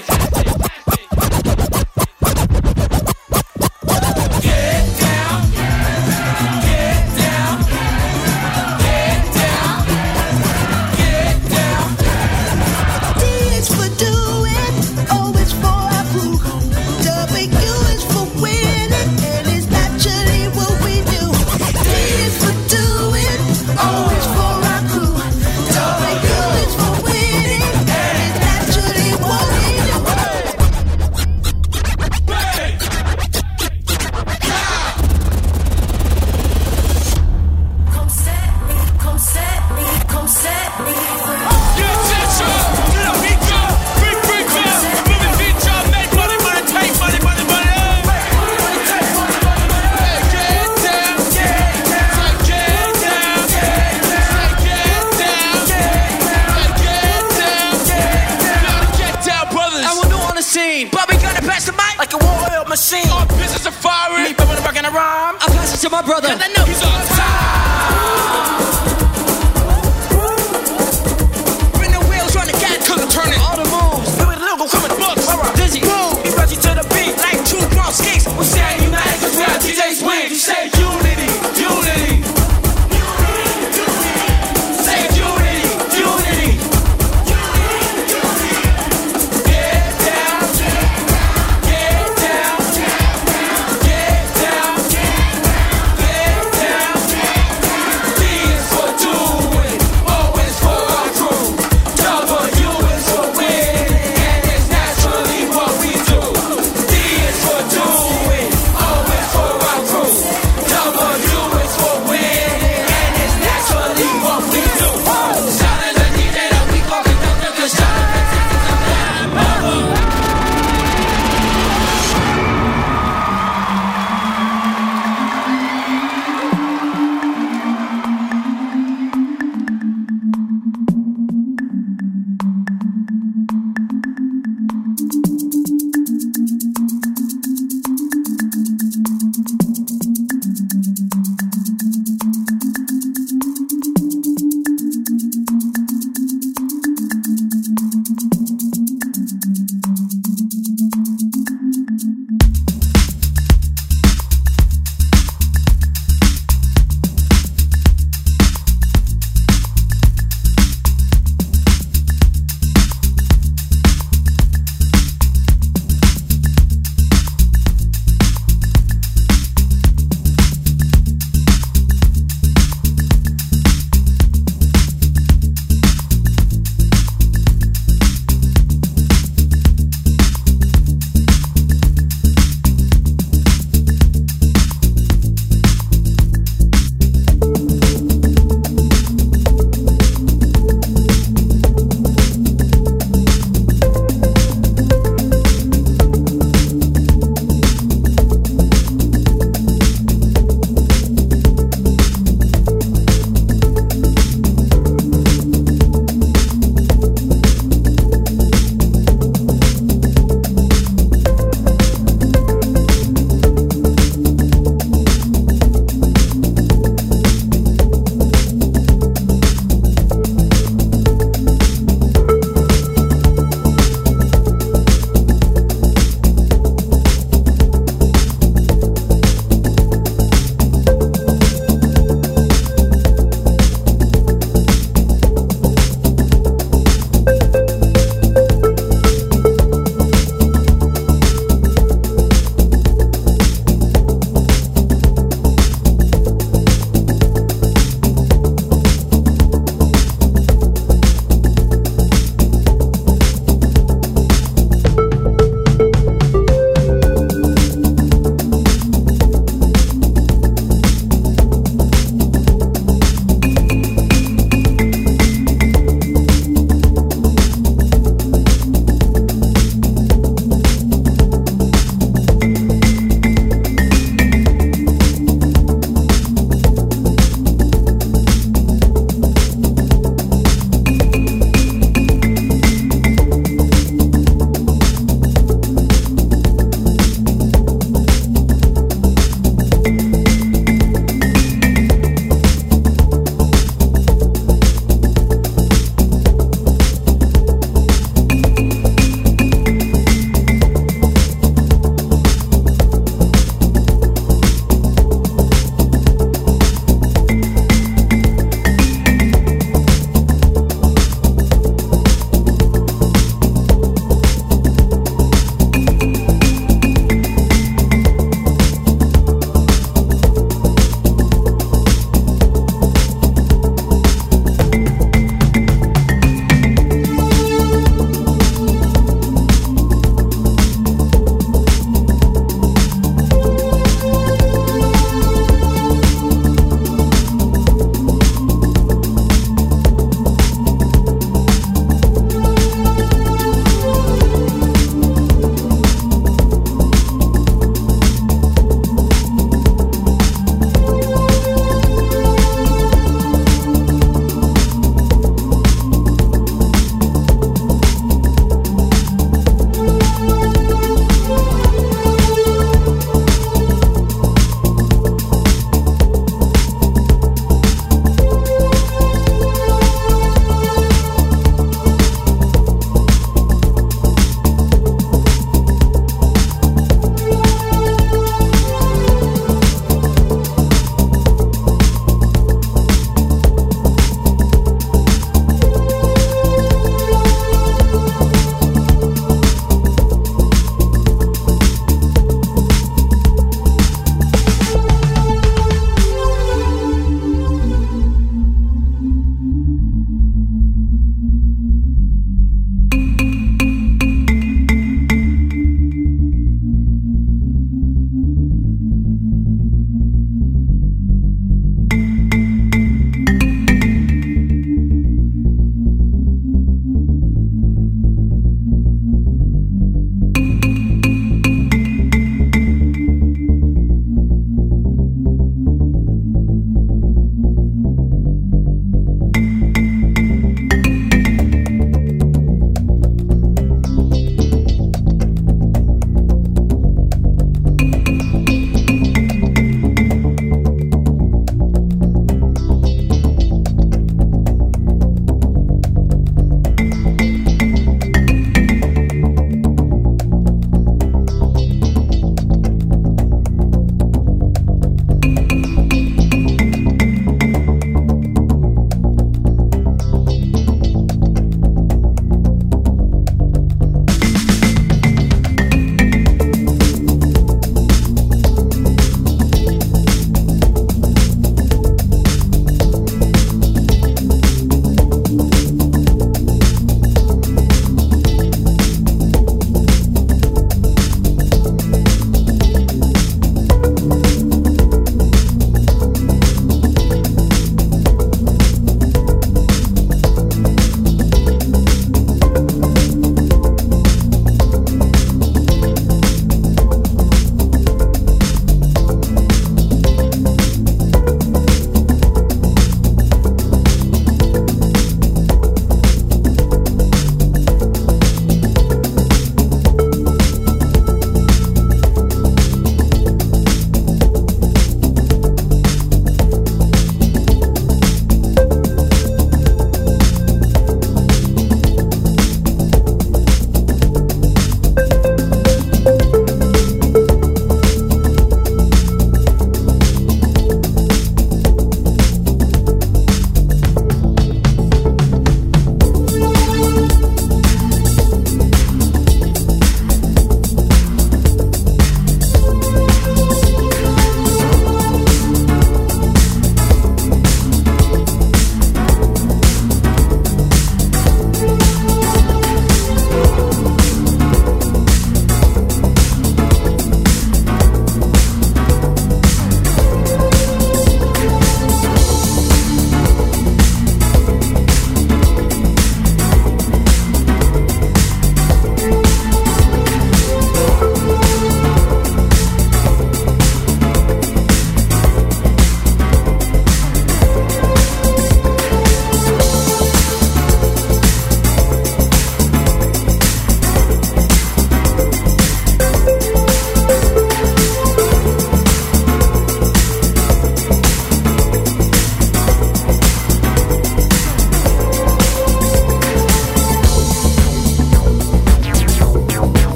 Machine. Our business is firing. Me, but when I'm rocking a rhyme, I pass it to my brother. Cause I know he's on time. Bring the wheels, run the gas, cause I'm turning all the moves. Do it little, come with books. Alright, Dizzy, move. He brought you to the beat like two drum skates. We say united cause we are D Js win. You say unity, unity.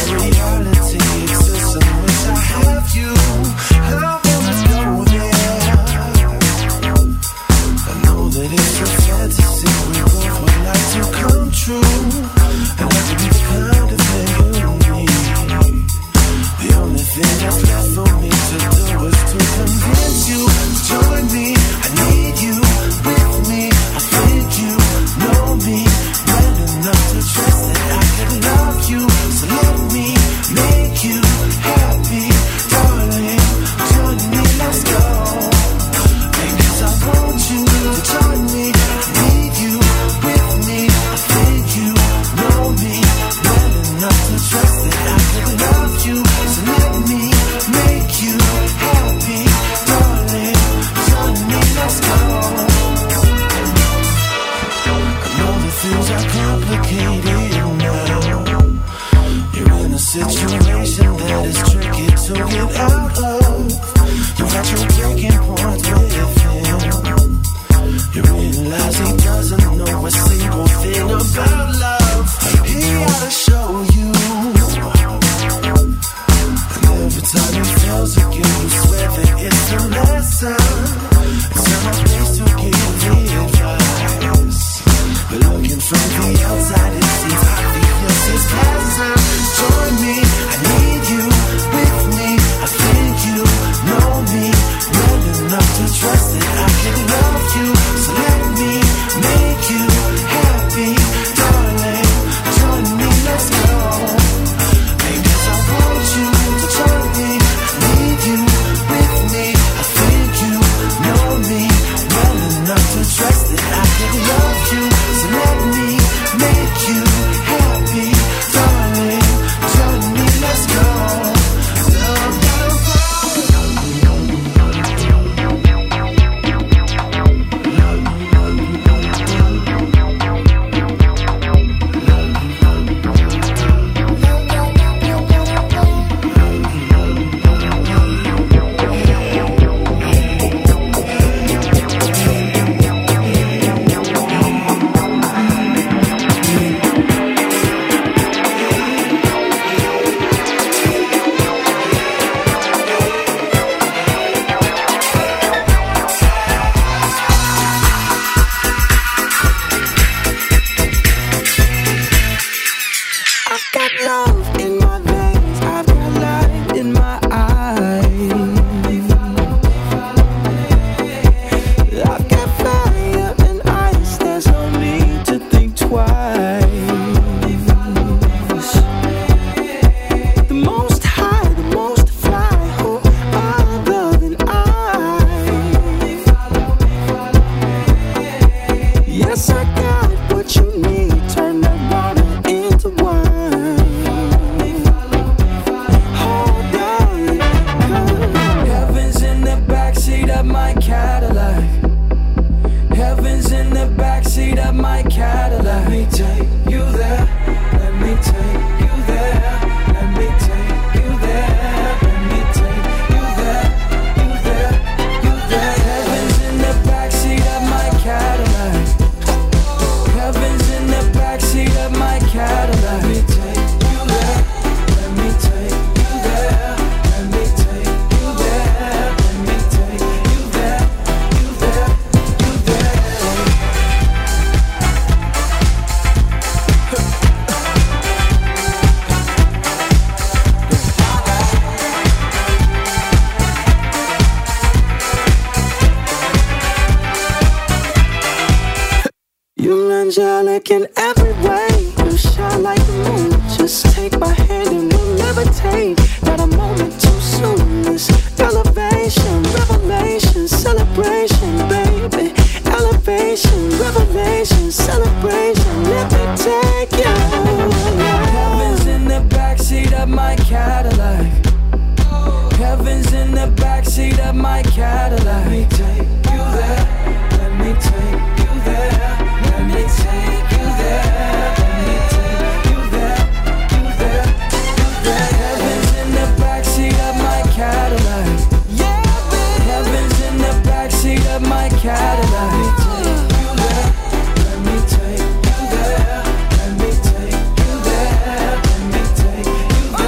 reality exists in which I have you. I wanna go there. I know that it's a fantasy we both would like to come true, and I can be the kind of thing you need. The only thing that's left for me to do is to convince you to join me. I need you with me. I think you know me well enough to trust that I can love you. So let me make you happy, darling. Join me, let's go. Because I want you to join me. I need you with me. I think you know me well enough to trust that I can love you. So let me make you happy, darling. Join me, let's go. I know that things are complicated now. You're in a situation that is tricky to get out of. You got your breaking point with him. You realize he doesn't know a single thing about love. He ought to show you. And every time he fails again, you swear that it's a lesson. It's not my place to give the advice, but looking from the outside, it seems obvious it's pleasant. Join me, I need you with me. I think you know me well enough to trust that I can love you. So let me make you happy, darling. Join me, let's go. Because I want you to join me. I need you with me. I think you know me well enough to trust that I can love you. So let me make you happy, darling. Join me, let's go. Love, I've got love in my veins, I've got light in my eyes. I've got fire and ice, there's no need to think twice. The most high, the most fly, who other than I? Yes, I got what you need, turn that water into wine. Hold on, heaven's in the backseat of my Cadillac. Heaven's in the backseat of my Cadillac. Let me take you there. Let me take you there. Let me take you there. Let me take you there. You there. You there. Heaven's in the backseat of my Cadillac. Heaven's in the backseat of my Cadillac. Let me take you there. Let me take you there. Let me take you there. Let me take you there. You there. You there. You're angelic in every way. You shine like the moon. Just take my hand and we'll levitate. Not a moment too soon. This elevation, revelation, celebration, baby. Elevation, revelation, celebration. Let me take you. Heaven's in the backseat of my Cadillac. Heaven's in the backseat of my Cadillac. Let me take you there. Let me take you there. Let me take you there. Let me take you there. You there. You there. Heaven's in the backseat of my Cadillac. Yeah, baby. Heaven's in the backseat of my Cadillac. Let me take you there. Let me take you there. Let me take you there. Let me take you there.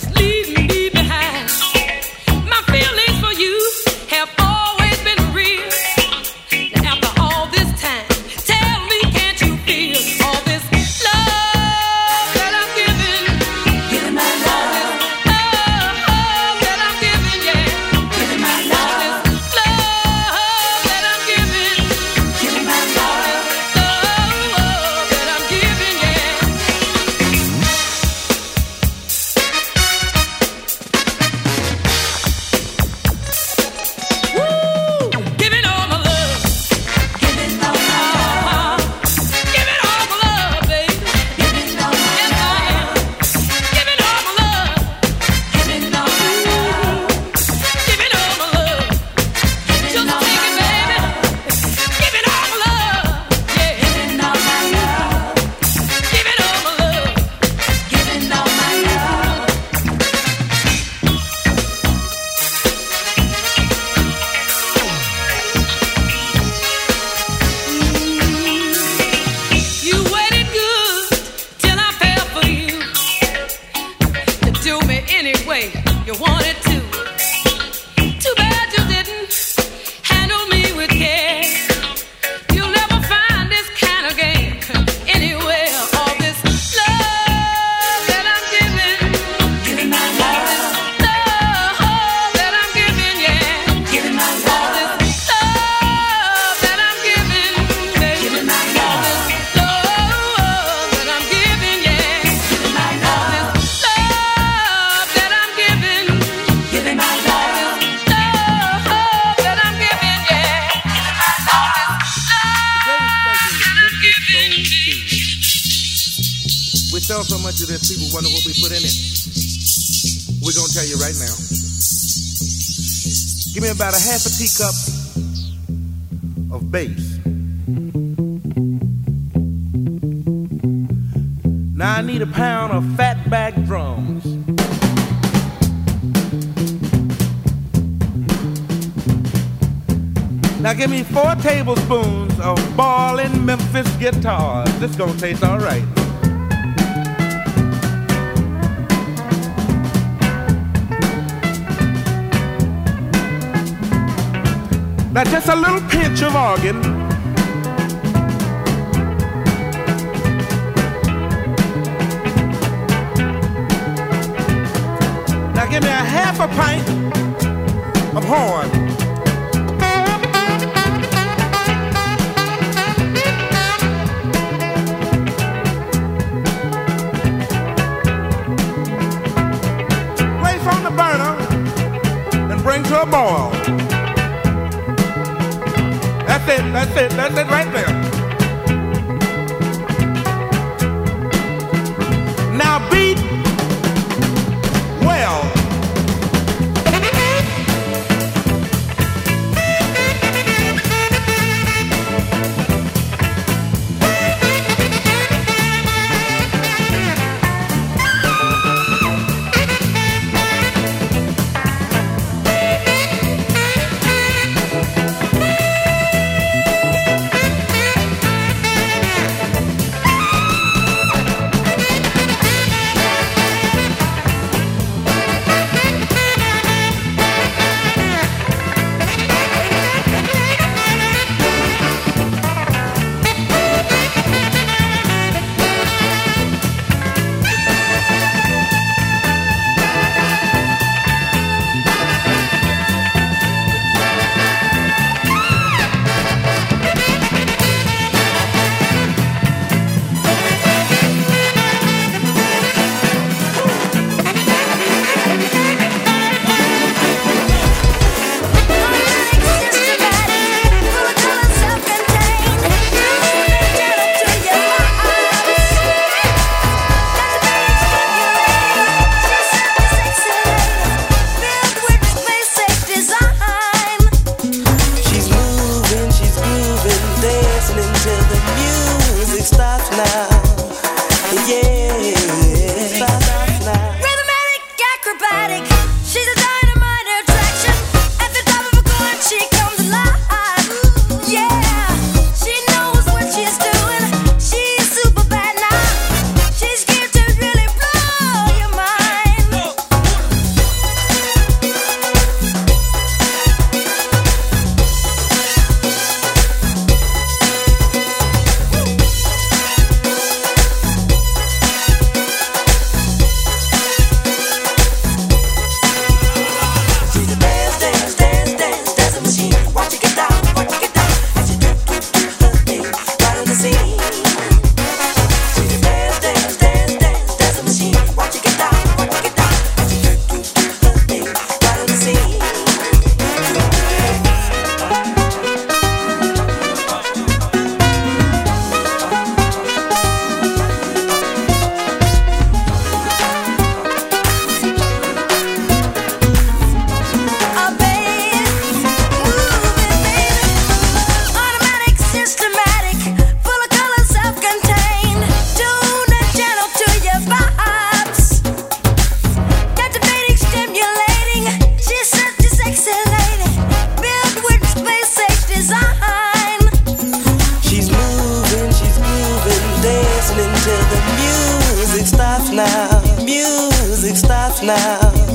sell so much of this, people wonder what we put in it. We're going to tell you right now. Give me about a half a teacup of bass. Now I need a pound of fatback drums. Now give me four tablespoons of ballin' Memphis guitars. This gonna taste all right. Now just a little pinch of organ. Now give me a half a pint of horn. Place on the burner and bring to a boil. That's it, that's it, that's it right there. Now beat well.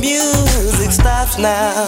music stops now.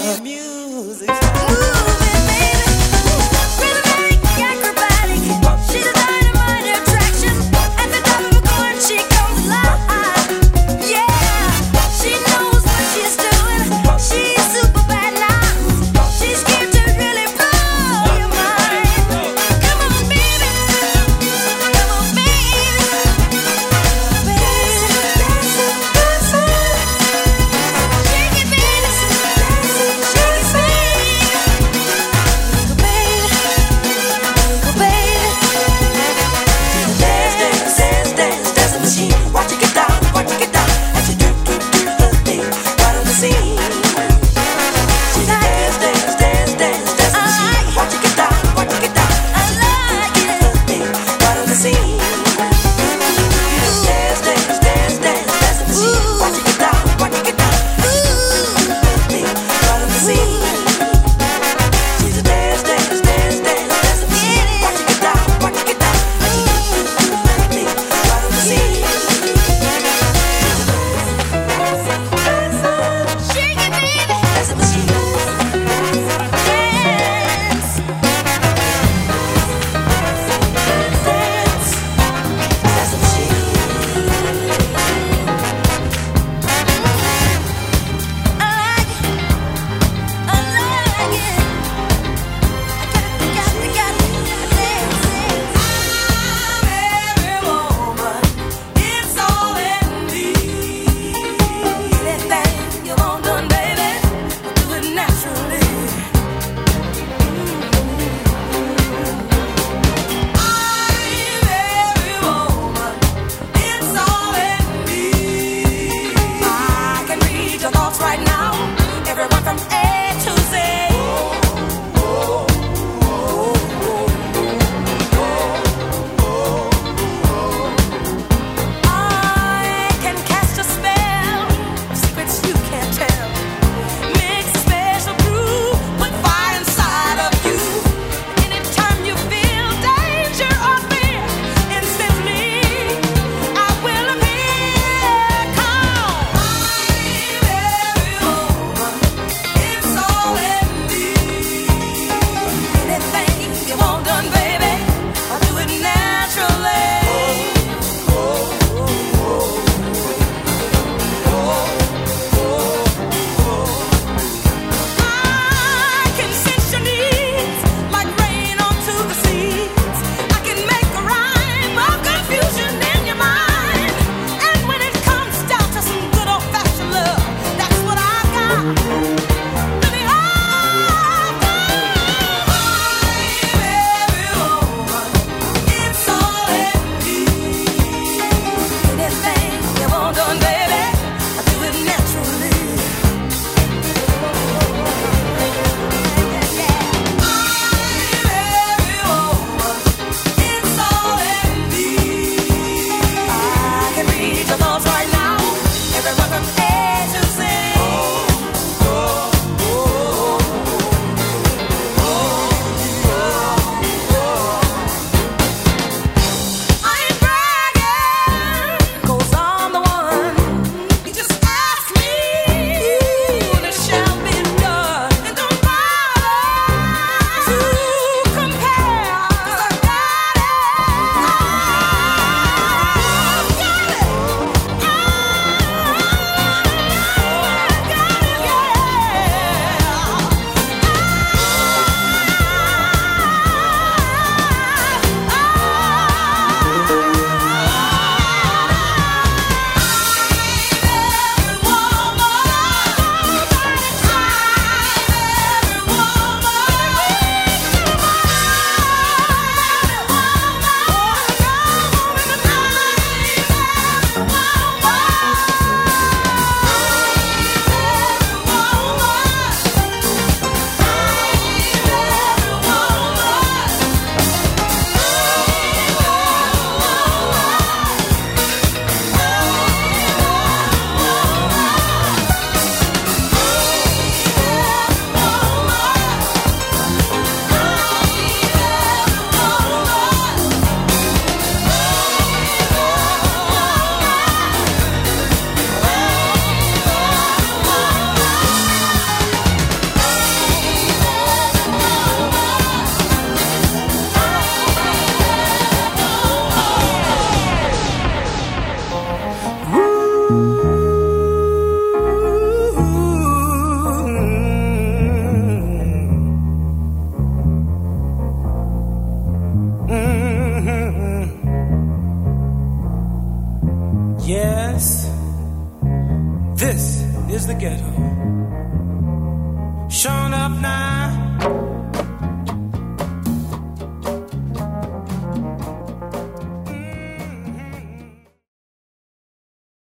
This is the ghetto. Showing up now.